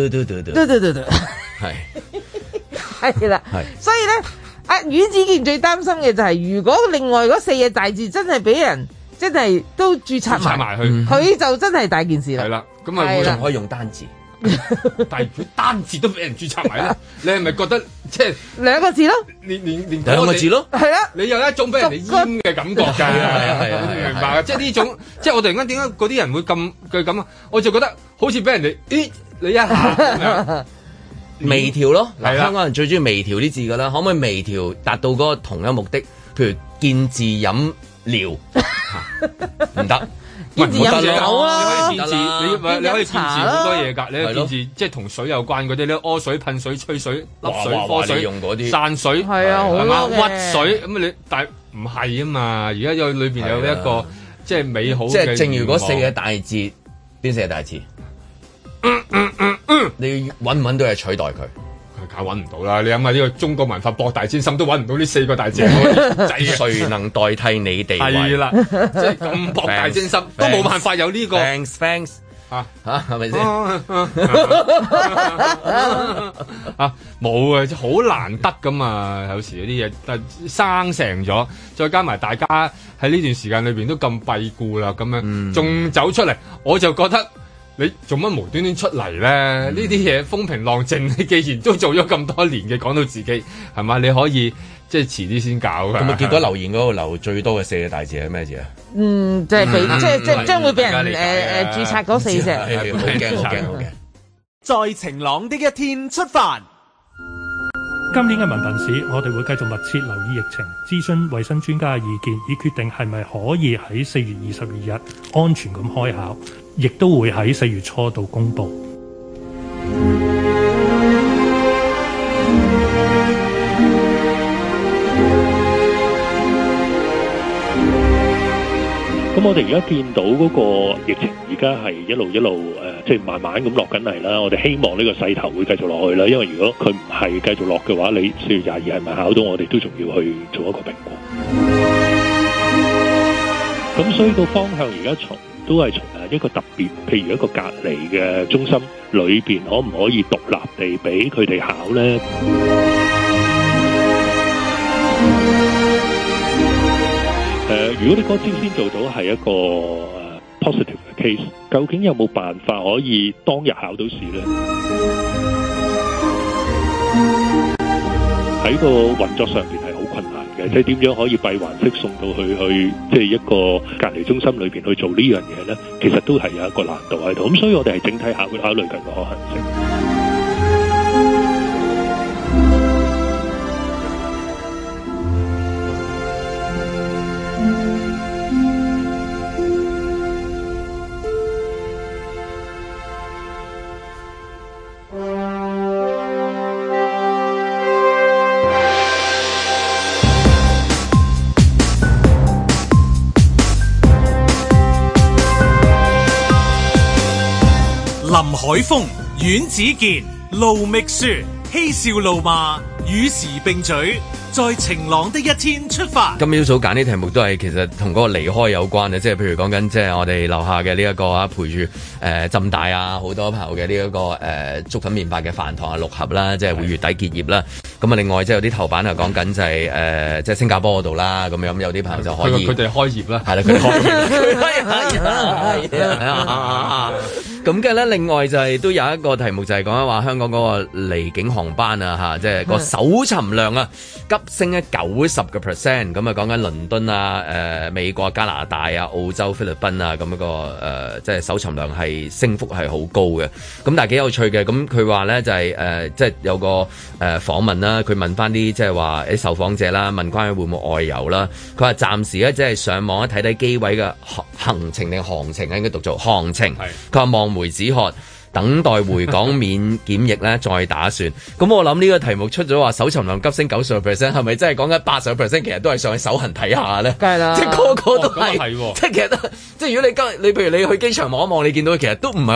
係啦，所以咧，阿阮子健最擔心嘅就係，如果另外嗰4個大字真係俾人真係都註冊埋去，佢就真係大件事啦。 係啦，咁啊， 會仲可以用單字。 但係佢單字都俾人註冊埋咧，你係咪覺得即係 2個字咯？ 連 2個字咯， 係啊！ 你有一種俾人哋閹嘅感覺㗎，係明白啊！即係呢種，即係我突然間點解嗰啲人會咁啊？我就覺得好似俾人哋你一下微調咯。嗱，香港人最中意微調啲字㗎啦，可唔可以微調達到嗰個同一目的？譬如見字飲料，唔得。 見字飲酒啦， 你可以見字，你可以見字好多嘢㗎。你可以見字即係同水有關嗰啲咧，屙水、噴水、吹水、粒水、科水、用嗰啲散水， 係啊，好嘛？屈水咁你但係唔係啊嘛？而家有裏邊有一個即係美好嘅。即係正如嗰4個大字，邊4個大字？你揾唔揾到嘢取代佢？ 梗揾唔到啦！你諗下呢個中國文化博大精深，都揾唔到呢4個大字。 誰能代替你地位？ 係啦，即係咁博大精深，都冇辦法有呢個。 Thanks 嚇係咪先？ 冇啊，好難得噶嘛！有時嗰啲嘢，但生成咗，再加埋大家喺呢段時間裏邊都咁閉顧啦，咁樣仲走出嚟，我就覺得。你做乜無端端出嚟咧？呢啲嘢風平浪靜，你既然都做咗咁多年嘅，講到自己係嘛？你可以即係遲啲先搞㗎。咁啊，結果留言嗰度留最多嘅4個大字係咩字啊？ 即係俾即係將會俾人註冊嗰4隻。 好驚好驚！ 在晴朗的一天出發。 今年嘅文憑試，我哋會繼續密切留意疫情，諮詢衛生專家嘅意見，以決定係咪可以喺4月22日安全咁開考，亦都會喺4月初度公佈。咁我哋而家見到嗰個疫情，而家係一路即係慢慢咁落緊嚟啦。我哋希望呢個勢頭會繼續落去啦。因為如果佢唔係繼續落嘅話，你4月22係咪考到，我哋都仲要去做一個評估。咁所以個方向而家都係從一個特別，譬如一個隔離嘅中心裏邊，可唔可以獨立地俾佢哋考呢？如果你嗰招先做到係一個positive 嘅 case，究竟有冇辦法可以當日考到試呢？喺個運作上邊係好困難嘅，即係點樣可以閉環式送到去即係一個隔離中心裏邊去做呢樣嘢呢？其實都係有一個難度喺度。咁所以我哋係整體考慮緊個可行性。 林海峰、阮子健、盧覓雪，嬉笑怒罵，與時並舉，在晴朗的一天出發。 今朝早揀啲題目都係其實同嗰個離開有關嘅，即係譬如講緊即係我哋樓下嘅呢一個啊，陪住浸大啊好多朋友嘅呢一個粥粉麵飯嘅飯堂啊6盒啦，即係會月底結業啦。咁啊，另外即係有啲頭版係講緊就係即係新加坡嗰度啦，咁樣有啲朋友就可以佢哋開業啦， 係啦，佢哋開業。咁嘅咧，另外就係都有一個題目就係講緊話香港嗰個離境航班啊嚇，即係個搜尋量啊急升咗90%，咁啊講緊倫敦啊、美國、加拿大啊、澳洲、菲律賓啊咁一個即係搜尋量係升幅係好高嘅。咁但係幾有趣嘅，咁佢話咧就係即係有個訪問啦，佢問翻啲即係話啲受訪者啦，問關於會唔會外遊啦，佢話暫時咧即係上網睇睇機位嘅行程定航程，應該讀做航程。佢話望梅止渴，等待回港免檢疫咧，再打算。咁我諗呢個題目出咗話搜尋量急升90%，係咪真係講緊80%？其實都係上去手痕睇下咧。梗係啦，即係個個都係。即係其實即係如果你譬如你去機場望一望，你見到其實都唔係即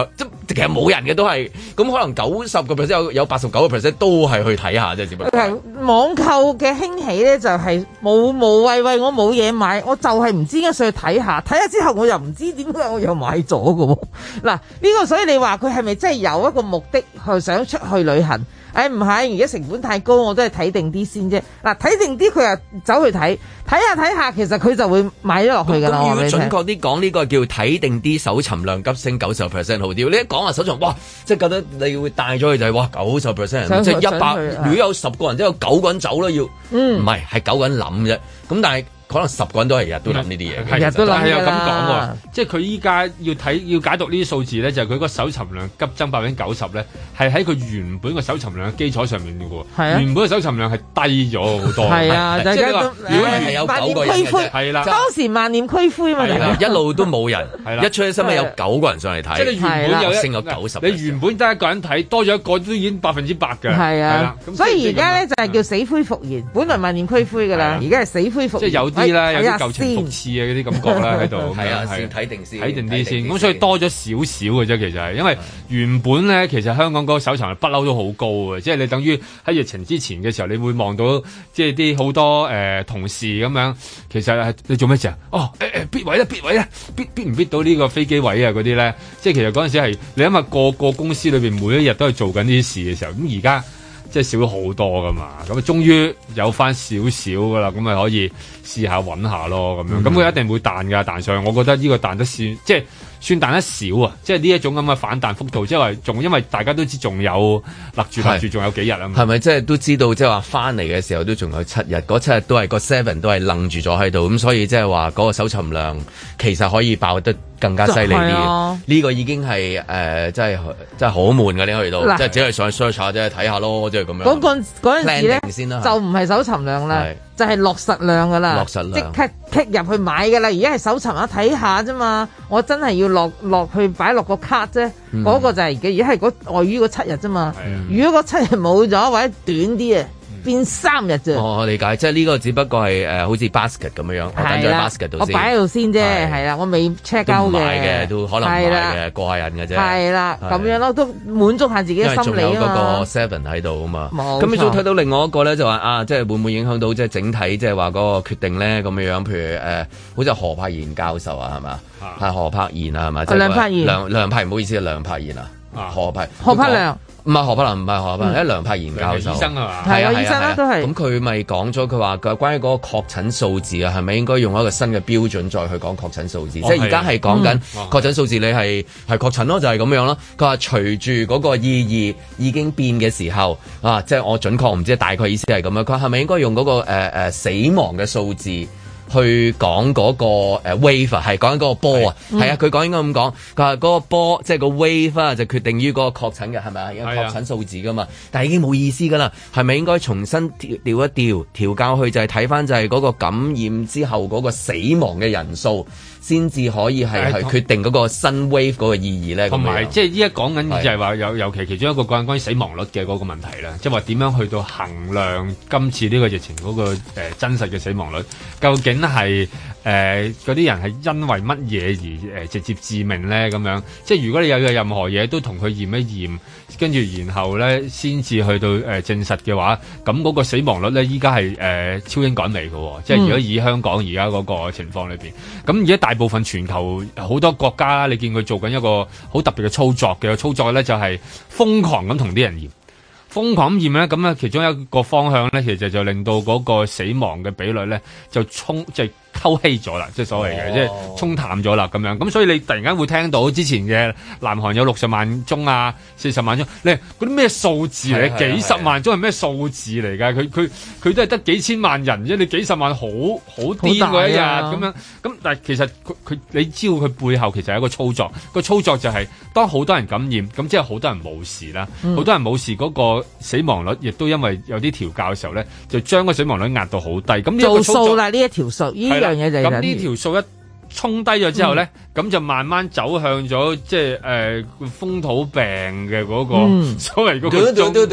其實冇人嘅都係，咁可能90%有89%都係去睇下啫，只不過。 網購嘅興起咧就係無謂我冇嘢買，我就係唔知點解上去睇下之後我又唔知點解我又買咗嘅喎。嗱呢個所以你話佢係咪真係有一個目的去想出去旅行？唔係，而家成本太高，我都係睇定啲先啫。嗱，睇定啲佢又走去睇下，其實佢就會買咗落去㗎啦。 咁如果準確啲講，呢個叫睇定啲，搜尋量急升90%好啲。你一講話搜尋，哇！即係覺得你會帶咗去就係哇90%，即係100。如果有10個人，即係有9個人走啦，要唔係係9個人諗啫。咁但係。可能10個人都係日日都諗呢啲嘢， 日日都諗係有咁講喎。即係佢依家要解讀呢啲數字咧，就係佢個搜尋量急增90%咧，係喺佢原本個搜尋量嘅基礎上面嘅喎。係啊，原本嘅搜尋量係低咗好多。係啊，即係你話如果係有9個人嘅，係啦，當時萬念俱灰嘛， 一路都冇人，一出去新聞有9個人上嚟睇， 即係你原本有升咗90%， 你原本得一個人睇，多咗一個都已經100%嘅。係啊， 所以而家咧就係叫死灰復燃，本來萬念俱灰㗎啦，而家係死灰復燃。 即係有啲啦，有啲舊情復熾啊，嗰啲感覺啦喺度。 係啊，先睇定啲先。 咁所以多咗少少嘅啫，其實係因為原本咧，其實香港嗰個搜尋不嬲都好高嘅，即係你等於喺疫情之前嘅時候，你會望到即係啲好多同事咁樣，其實係你做咩事啊？哦，bid位啦，bid唔 bid到呢個飛機位啊嗰啲咧，即係其實嗰陣時係你諗下個公司裏邊每一日都係做緊呢啲事嘅時候，咁而家。即係少咗好多噶嘛，咁啊終於有翻少少噶啦，咁咪可以試下揾下咯，咁樣，咁佢一定會彈㗎，彈上去。我覺得呢個彈得算，即係算彈得少啊，即係呢一種咁嘅反彈幅度，即係話仲因為大家都知仲有勒住，仲有幾日啊嘛。係咪即係都知道，即係話翻嚟嘅時候都仲有7日，嗰7日都係個 7都係愣住咗喺度，咁所以即係話嗰個搜尋量其實可以爆得更加犀利啲。呢個已經係真係好悶㗎，你去到即係只係上去 search 下啫，睇下咯，即係咁樣。嗰陣時咧就唔係搜尋量啦，就係落實量㗎啦， 落實量即刻 click 入去買㗎啦。而家係搜尋下睇下啫嘛，我真係要落去擺落個卡啫。嗰個就係而家係外於嗰7日啫嘛。如果嗰7日冇咗或者短啲啊，變3日啫。 我理解，即係呢個只不過係好似 basket 咁樣，我等咗喺 basket 度先。 我擺喺度先啫，係啦，我未 check out 嘅。 都唔買嘅，都可能唔買嘅，過下癮嘅啫。 係啦，咁樣咯，都滿足下自己嘅心理啊嘛。 因為仲有嗰個 7喺度啊嘛。咁你仲睇到另外一個咧，就話即係會唔會影響到即係整體即係話嗰個決定咧咁樣？譬如好似何柏賢教授啊，係嘛？係何柏賢啊，係嘛？ 梁柏賢。 梁柏，唔好意思，梁柏賢啊。何柏良。 唔係何柏良，唔係何柏良，梁柏賢教授。 醫生啊嘛， 係啊，醫生啦都係。 咁佢咪講咗，佢話關於嗰個確診數字啊，係咪應該用一個新嘅標準再去講確診數字？即係而家係講緊確診數字，你係確診咯，就係咁樣咯。佢話隨住嗰個意義已經變嘅時候啊，即係我準確唔知，大概意思係咁樣。佢係咪應該用嗰個死亡嘅數字？去講嗰個wave 係講緊嗰個波啊，係啊，佢講應該咁講，佢話嗰個波即係個 wave 就決定於嗰個確診嘅係咪啊？有確診數字噶嘛，但係已經冇意思噶啦，係咪應該重新調教去就係睇翻就係嗰個感染之後嗰個死亡嘅人數？先至可以係決定嗰個新 wave 嗰個意義咧。同埋即係依家講緊就係話尤其其中一個關於死亡率嘅嗰個問題啦，即係話點樣去到衡量今次呢個疫情嗰個真實嘅死亡率，究竟係嗰啲人係因為乜嘢而直接致命咧？咁樣即係如果你有任何嘢都同佢驗一驗，跟住然後咧先至去到證實嘅話，咁嗰個死亡率咧依家係超英趕美嘅，即係如果以香港而家嗰個情況裏邊，咁而家大部分全球好多國家，你見佢做緊一個好特別嘅操作嘅操作咧，就係瘋狂咁同啲人驗，瘋狂咁驗咧，咁咧其中一個方向咧，其實就令到嗰個死亡嘅比率咧就即係溝稀咗啦，即係所謂嘅，即係沖淡咗啦咁樣。咁所以你突然間會聽到之前嘅南韓有60萬宗啊，40萬宗，你嗰啲咩數字嚟？幾十萬宗係咩數字嚟㗎？佢都係得幾千萬人啫，你幾十萬好癲嗰一日咁樣。咁但係其實佢你知道佢背後其實係一個操作，個操作就係當好多人感染，咁即係好多人冇事啦，好多人冇事嗰個死亡率亦都因為有啲調教嘅時候咧，就將個死亡率壓到好低。咁呢個操作做數啦，呢一條數。咁呢條數衝低咗之後咧，咁就慢慢走向咗即係風土病嘅嗰個所謂嗰個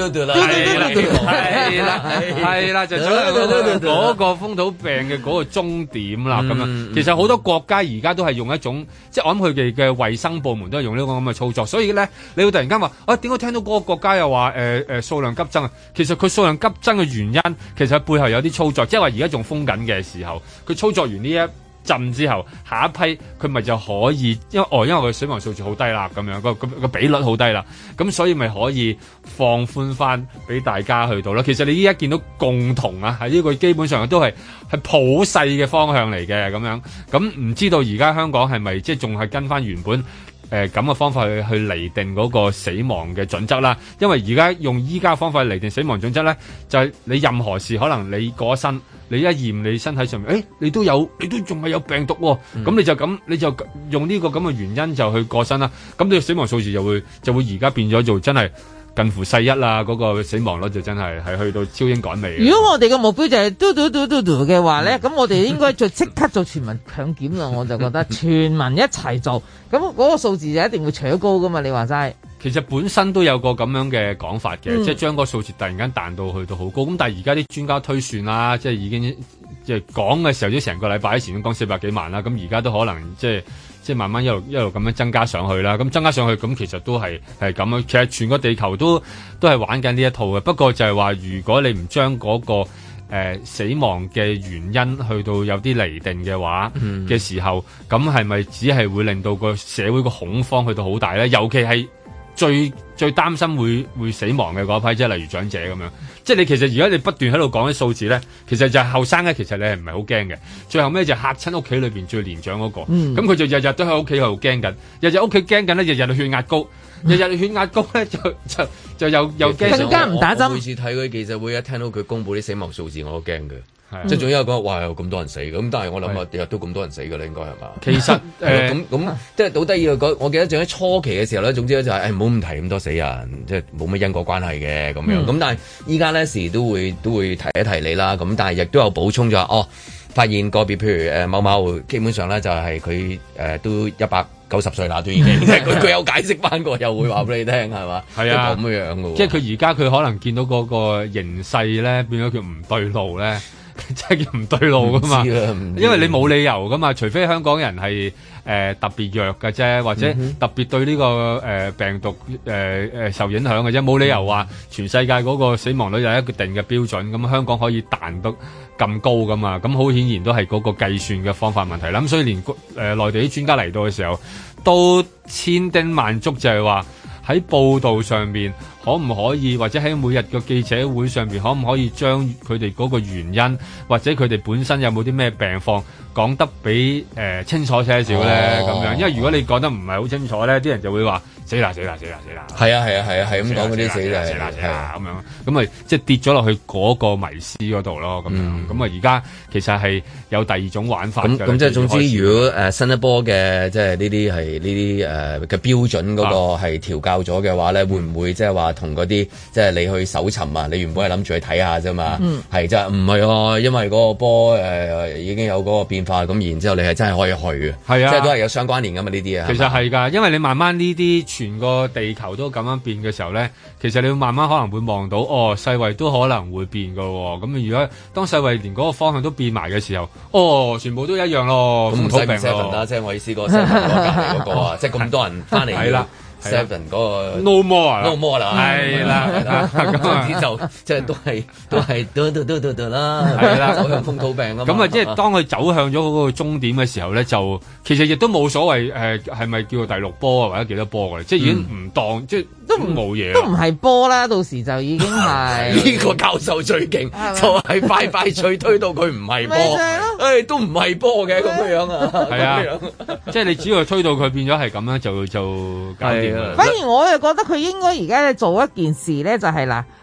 係啦，就走向嗰個風土病嘅嗰個終點啦。咁樣其實好多國家而家都係用一種，即係我諗佢哋嘅衛生部門都係用呢個咁嘅操作。所以咧，你會突然間話點解聽到嗰個國家又話數量急增啊？其實佢數量急增嘅原因，其實背後有啲操作，即係話而家仲封緊嘅時候，佢操作完呢一陣之後，下一批佢咪就可以，因為佢死亡數字好低啦，咁樣個比率好低啦，咁所以咪可以放寬翻俾大家去到啦。其實你依家見到共同啊，喺呢個基本上都係普世嘅方向嚟嘅咁樣。咁唔知道而家香港係咪即係仲係跟翻原本咁嘅方法去釐定嗰個死亡嘅準則啦？因為而家用依家方法嚟釐定死亡準則咧，就係你任何事可能你過身。你一驗你身體上面，你都仲係有病毒喎，咁你就用呢個咁嘅原因就去過身啦，咁你死亡數字就會而家變咗做真係近乎世一啦，嗰個死亡率就真係去到超英趕美。 如果我哋嘅目標就係嘟嘅話咧，咁我哋應該就即刻做全民強檢啦，我就覺得全民一齊做，咁嗰個數字就一定會扯高噶嘛，你話齋。 其實本身都有個咁樣嘅講法嘅，即係將個數字突然間彈到去到好高。咁但係而家啲專家推算啦，即係已經即係講嘅時候，都成個禮拜前都講400幾萬啦。咁而家都可能即係慢慢一路咁樣增加上去啦。咁增加上去，咁其實都係咁樣。其實全個地球都係玩緊呢一套嘅。不過就係話，如果你唔將嗰個死亡嘅原因去到有啲釐定嘅話嘅時候，咁係咪只係會令到個社會個恐慌去到好大咧？尤其係最擔心會死亡嘅嗰批，即係例如長者咁樣。即係你其實而家你不斷喺度講啲數字咧，其實就係後生咧，其實你係唔係好驚嘅。最後尾就嚇親屋企裏邊最年長嗰個，咁佢就日日都喺屋企度驚緊，日日屋企驚緊咧，日日血壓高，日日血壓高咧就又驚。 更加唔打針。 我每次睇嗰啲記者會，一聽到佢公佈啲死亡數字，我都驚嘅。即係總之有講哇有咁多人死咁，但係我諗啊日日都咁多人死㗎啦，應該係嘛？ 其實咁即係好得意啊！我記得仲喺初期嘅時候咧，總之咧就係唔好唔提咁多死人，即係冇乜因果關係嘅咁樣。咁但係依家咧時都會提一提你啦。咁但係亦都有補充咗發現個別譬如某某基本上咧就係佢都190歲啦，都已經即係佢有解釋翻過，又會話俾你聽係嘛？係啊，咁樣嘅。 即係佢而家佢可能見到嗰個形勢咧變咗叫唔對路咧。即係叫唔對路噶嘛，因為你冇理由噶嘛，除非香港人係特別弱嘅啫，或者特別對呢個病毒受影響嘅啫，冇理由話全世界嗰個死亡率有一個定嘅標準，咁香港可以彈得咁高噶嘛，咁好顯然都係嗰個計算嘅方法問題啦。咁所以連內地啲專家嚟到嘅時候，都千叮萬囑就係話喺報道上面可唔可以，或者喺每日嘅記者會上邊可唔可以將佢哋嗰個原因，或者佢哋本身有冇啲咩病況講得比清楚些少咧咁樣？因為如果你講得唔係好清楚咧，啲人就會話死啦！係咁講嗰啲死啦咁樣， 咁咪即係跌咗落去嗰個迷思嗰度咯，咁樣咁啊而家其實係有第二種玩法嘅。 咁即係總之，如果新一波嘅即係呢啲係呢啲嘅標準嗰個係調校咗嘅話咧，會唔會即係話同嗰啲即係你去搜尋啊？你原本係諗住去睇下啫嘛，係即係唔係喎？因為嗰個波已經有嗰個變化，咁然之後你係真係可以去嘅，係啊，即係都係有相關聯噶嘛呢啲啊。 其實係㗎，因為你慢慢呢啲全個地球都咁樣變嘅時候咧，其實你會慢慢可能會望到世衛都可能會變㗎喎。咁如果當世衛連嗰個方向都變埋嘅時候，全部都一樣咯。咁唔使 7啦，即係我意思嗰個7嗰個啊，即係咁多人翻嚟係啦。Seven 嗰個 no more 啦，係啦，咁就即係都係都啦， 係啦， 走向風土病啊嘛。 咁啊，即係當佢走向咗嗰個終點嘅時候咧，就其實亦都冇所謂係咪叫做第6波啊，或者幾多波嘅，即係已經唔當即係都冇嘢， 都唔係波啦，到時就已經係呢個教授最勁，就係快脆推到佢唔係波，都唔係波嘅咁樣啊， 係啊，即係你只要推到佢變咗係咁樣就搞掂。 反而我又覺得佢應該而家做一件事咧，就係嗱，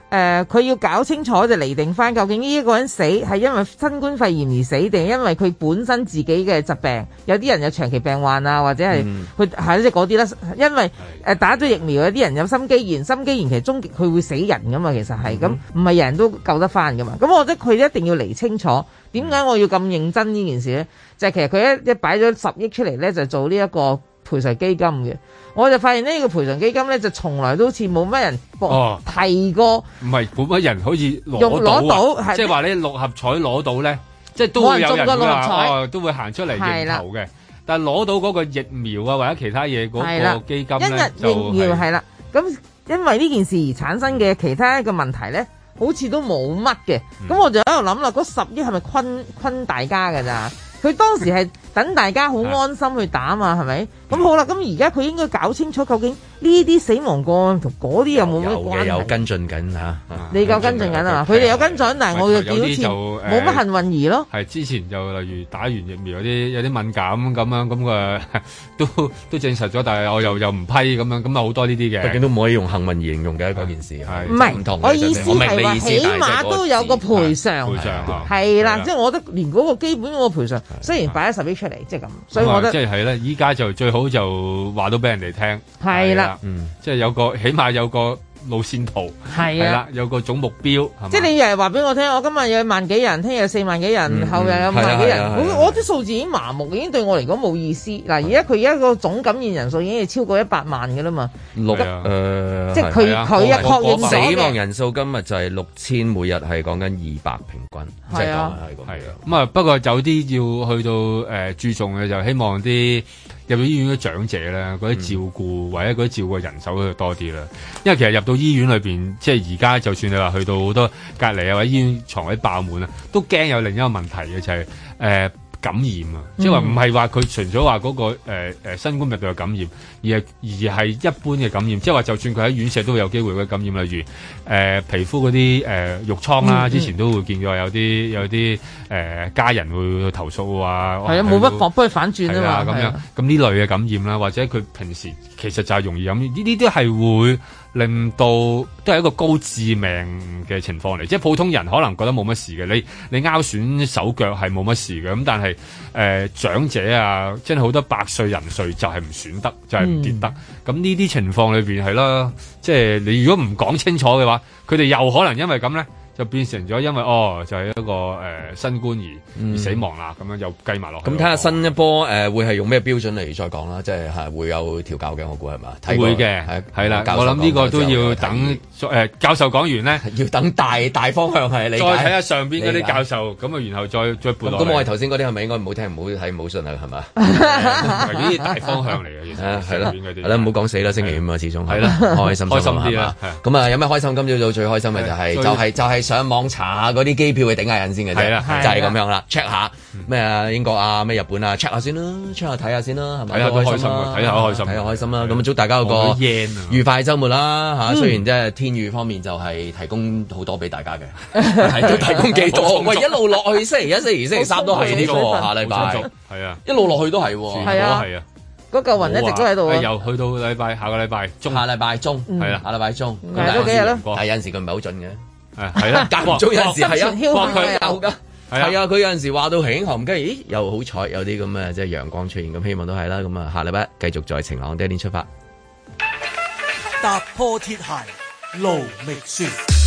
佢要搞清楚就釐定翻，究竟呢一個人死係因為新冠肺炎而死，定係因為佢本身自己嘅疾病？有啲人有長期病患啊，或者係佢係即係嗰啲啦。因為打咗疫苗，有啲人有心肌炎，心肌炎其實終極佢會死人噶嘛，其實係咁，唔係人人都救得翻噶嘛。咁我覺得佢一定要釐清楚，點解我要咁認真呢件事咧？就係其實佢一擺咗10億出嚟咧，就做呢一個賠償基金嘅。我就發現呢個賠償基金咧，就從來都好似冇乜人提過。唔係冇乜人好似攞到，即係話你6合彩攞到咧，即係都會有人話都會行出嚟認頭嘅。但係攞到嗰個疫苗啊或者其他嘢嗰個基金咧，就疫苗係啦。咁因為呢件事而產生嘅其他一個問題咧，好似都冇乜嘅。咁我就喺度諗啦，嗰10億係咪坤大家㗎咋？佢當時係等大家好安心去打嘛，係咪？咁好啦，咁而家佢應該搞清楚究竟呢啲死亡個案同嗰啲有冇咩關係？有跟進緊嚇，你夠跟進緊啊嘛？佢哋有跟進，但係我嘅表現冇乜幸運兒咯。係之前就例如打完疫苗有啲敏感咁樣，咁都證實咗，但係我又唔批咁樣，咁啊好多呢啲嘅。畢竟都唔可以用幸運兒形容嘅嗰件事係。唔係，我意思係話起碼都有個賠償。係啦，即係我覺得連嗰個基本嗰個賠償，雖然擺咗10億出嚟，即係咁，所以我覺得即係咧，依家就最好就話到俾人哋聽。係啦。即係起碼有個路線圖，係啦，有個總目標。即係你又係話俾我聽，我今日有1萬幾人，聽日有4萬幾人，後日有5萬幾人。我啲數字已經麻木，已經對我嚟講冇意思。嗱，而家個總感染人數已經係超過100萬㗎啦嘛。即係佢一確認死亡人數今日就係6000，每日係講緊200平均。係啊，係啊。咁啊，不過有啲要去到注重嘅就希望啲入到醫院嘅長者咧，嗰啲照顧或者嗰啲照顧人手就多啲啦。因為其實入到醫院裏邊，即係而家就算你話去到好多隔離啊或者醫院床位爆滿啊，都驚有另一個問題嘅就係感染啊，即係話唔係話佢純粹話嗰個新冠病毒嘅感染，而係一般嘅感染，即係話就算佢喺院舍都會有機會嘅感染，例如皮膚嗰啲褥瘡啦，之前都會見過有啲家人會去投訴話係啊，冇乜幫佢反轉啊嘛，咁樣咁呢類嘅感染啦，或者佢平時其實就係容易感染，呢啲都係會令到都係一個高致命嘅情況嚟，即係普通人可能覺得冇乜事嘅，你拗損手腳係冇乜事嘅，咁但係長者啊，真係好多百歲人歲就係唔選得，就係唔跌得，咁呢啲情況裏邊係啦，即係你如果唔講清楚嘅話，佢哋又可能因為咁咧。就變成咗，因為就係一個新冠而死亡啦，咁樣又計埋落去。咁睇下新一波會係用咩標準嚟再講啦，即係會有調教嘅，我估係嘛？會嘅，係啦。我諗呢個都要等教授講完咧，要等大方向係你再睇下上邊嗰啲教授，咁啊，然後再撥落。咁我哋頭先嗰啲係咪應該唔好聽、唔好睇、唔好信啊？係嘛？呢啲大方向嚟嘅，其實係啦，係啦，唔好講死啦，星期五啊，始終係啦，開心啲啦。咁啊，有咩開心？今朝早最開心嘅就係上網查下嗰啲機票去頂下癮先嘅啫，就係咁樣啦。check 下咩啊英國啊咩日本啊 check 下先啦 check 下睇下先啦，係咪？睇下開心啊，睇下開心啦。咁祝大家有個愉快週末啦嚇。雖然即係天雨方面就係提供好多俾大家嘅，都提供幾多？喂，一路落去星期一、星期二、星期三都係呢個下禮拜，係啊，一路落去都係，係啊，係啊。嗰嚿雲一直都喺度啊！又去到下個禮拜中，係啦，下禮拜中，都幾日啦。但係有陣時佢唔係好準嘅。係啦，間唔中有陣時係啊，幫佢有㗎，係啊，佢有陣時話到輕寒，跟住咦又好彩有啲咁嘅即係陽光出現，咁希望都係啦。咁啊，下禮拜繼續在晴朗的一天出發， 踏破鐵鞋路未雪。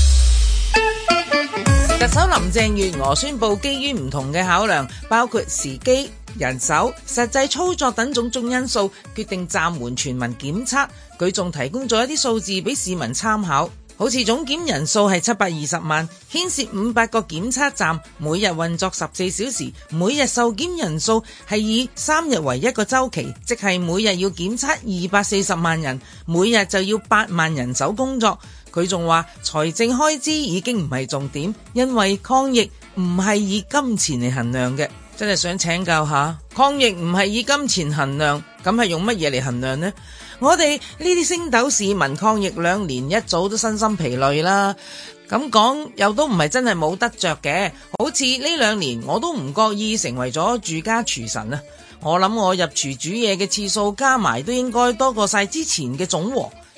特首林鄭月娥宣布，基於唔同嘅考量，包括時機、人手、實際操作等種種因素，決定暫緩全民檢測。佢仲提供咗一啲數字俾市民參考。好似總檢人數係720萬，牽涉500個檢測站，每日運作14小時，每日受檢人數係以3日為一個週期，即係每日要檢測240萬人，每日就要8萬人手工作。佢仲話財政開支已經唔係重點，因為抗疫唔係以金錢嚟衡量嘅。真係想請教下，抗疫唔係以金錢衡量，咁係用乜嘢嚟衡量呢？我哋呢啲星斗市民抗疫2年，一早都身心疲累啦。咁講又都唔係真係冇得着嘅，好似呢2年我都唔覺意成為咗住家廚神啊！我諗我入廚煮嘢嘅次數加埋都應該多過晒之前嘅總和。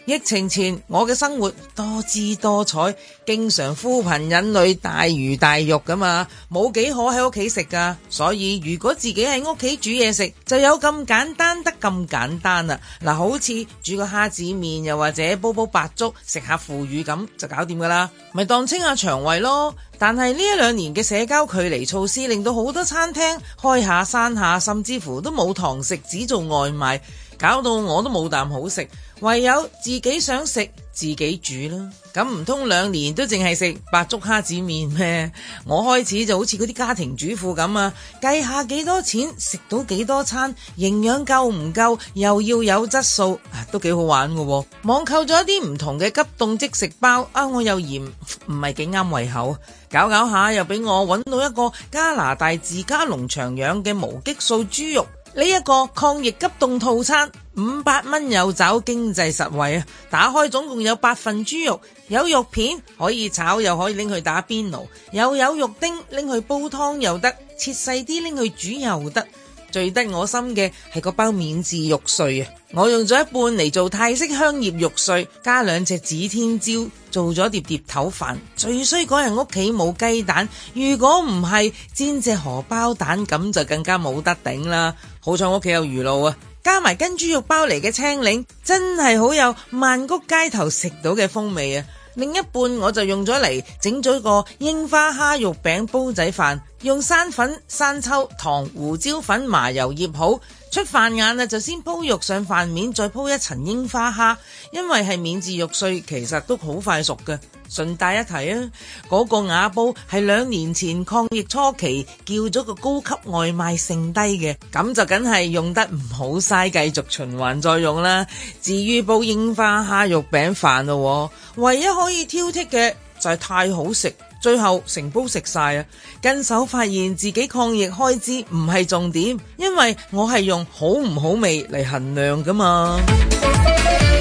疫情前我嘅生活多姿多彩，經常呼朋引侶，大魚大肉噶嘛，冇幾可喺屋企食噶。所以如果自己喺屋企煮嘢食，就有咁簡單得咁簡單啦。嗱，好似煮個蝦子麵，又或者煲白粥，食下腐乳咁就搞掂噶啦，咪當清下腸胃咯。但係呢1-2年嘅社交距離措施，令到好多餐廳開下閂下，甚至乎都冇堂食，只做外賣，搞到我都冇啖好食，唯有自己想食自己煮啦。咁唔通2年都淨係食白粥蝦子麵咩？我開始就好似嗰啲家庭主婦咁啊，計下幾多錢食到幾多餐，營養夠唔夠，又要有質素，都幾好玩㗎喎。網購咗一啲唔同嘅急凍即食包啊，我又嫌唔係幾啱胃口，搞下又俾我揾到一個加拿大自家農場養嘅無激素豬肉。呢一個抗疫急凍套餐500蚊有找，經濟實惠啊！打開總共有8份豬肉，有肉片可以炒，又可以拎去打邊爐，又有肉丁拎去煲湯又得，切細啲拎去煮又得。最得我心嘅係個包免治肉碎啊！我用咗一半嚟做泰式香葉肉碎，加2隻指天椒，做咗碟頭飯。最衰嗰人屋企冇雞蛋，如果唔係煎隻荷包蛋，咁就更加冇得頂啦。好彩屋企有魚露啊，加埋跟豬肉包嚟嘅青檸，真係好有曼谷街頭食到嘅風味啊！另一半我就用咗嚟整咗個櫻花蝦肉餅煲仔飯，用生粉、生抽、糖、胡椒粉、麻油醃好。出飯晏啊，就先鋪肉上飯面，再鋪一層櫻花蝦，因為係免治肉碎，其實都好快熟嘅。順帶一提啊，嗰個瓦煲係2年前抗疫初期叫咗個高級外賣剩低嘅，咁就梗係用得唔好嘥，繼續循環再用啦。至於煲櫻花蝦肉餅飯咯，唯一可以挑剔嘅就係太好食，最後成煲食晒啊！跟手發現自己抗疫開支唔係重點，因為我係用好唔好味嚟衡量噶嘛。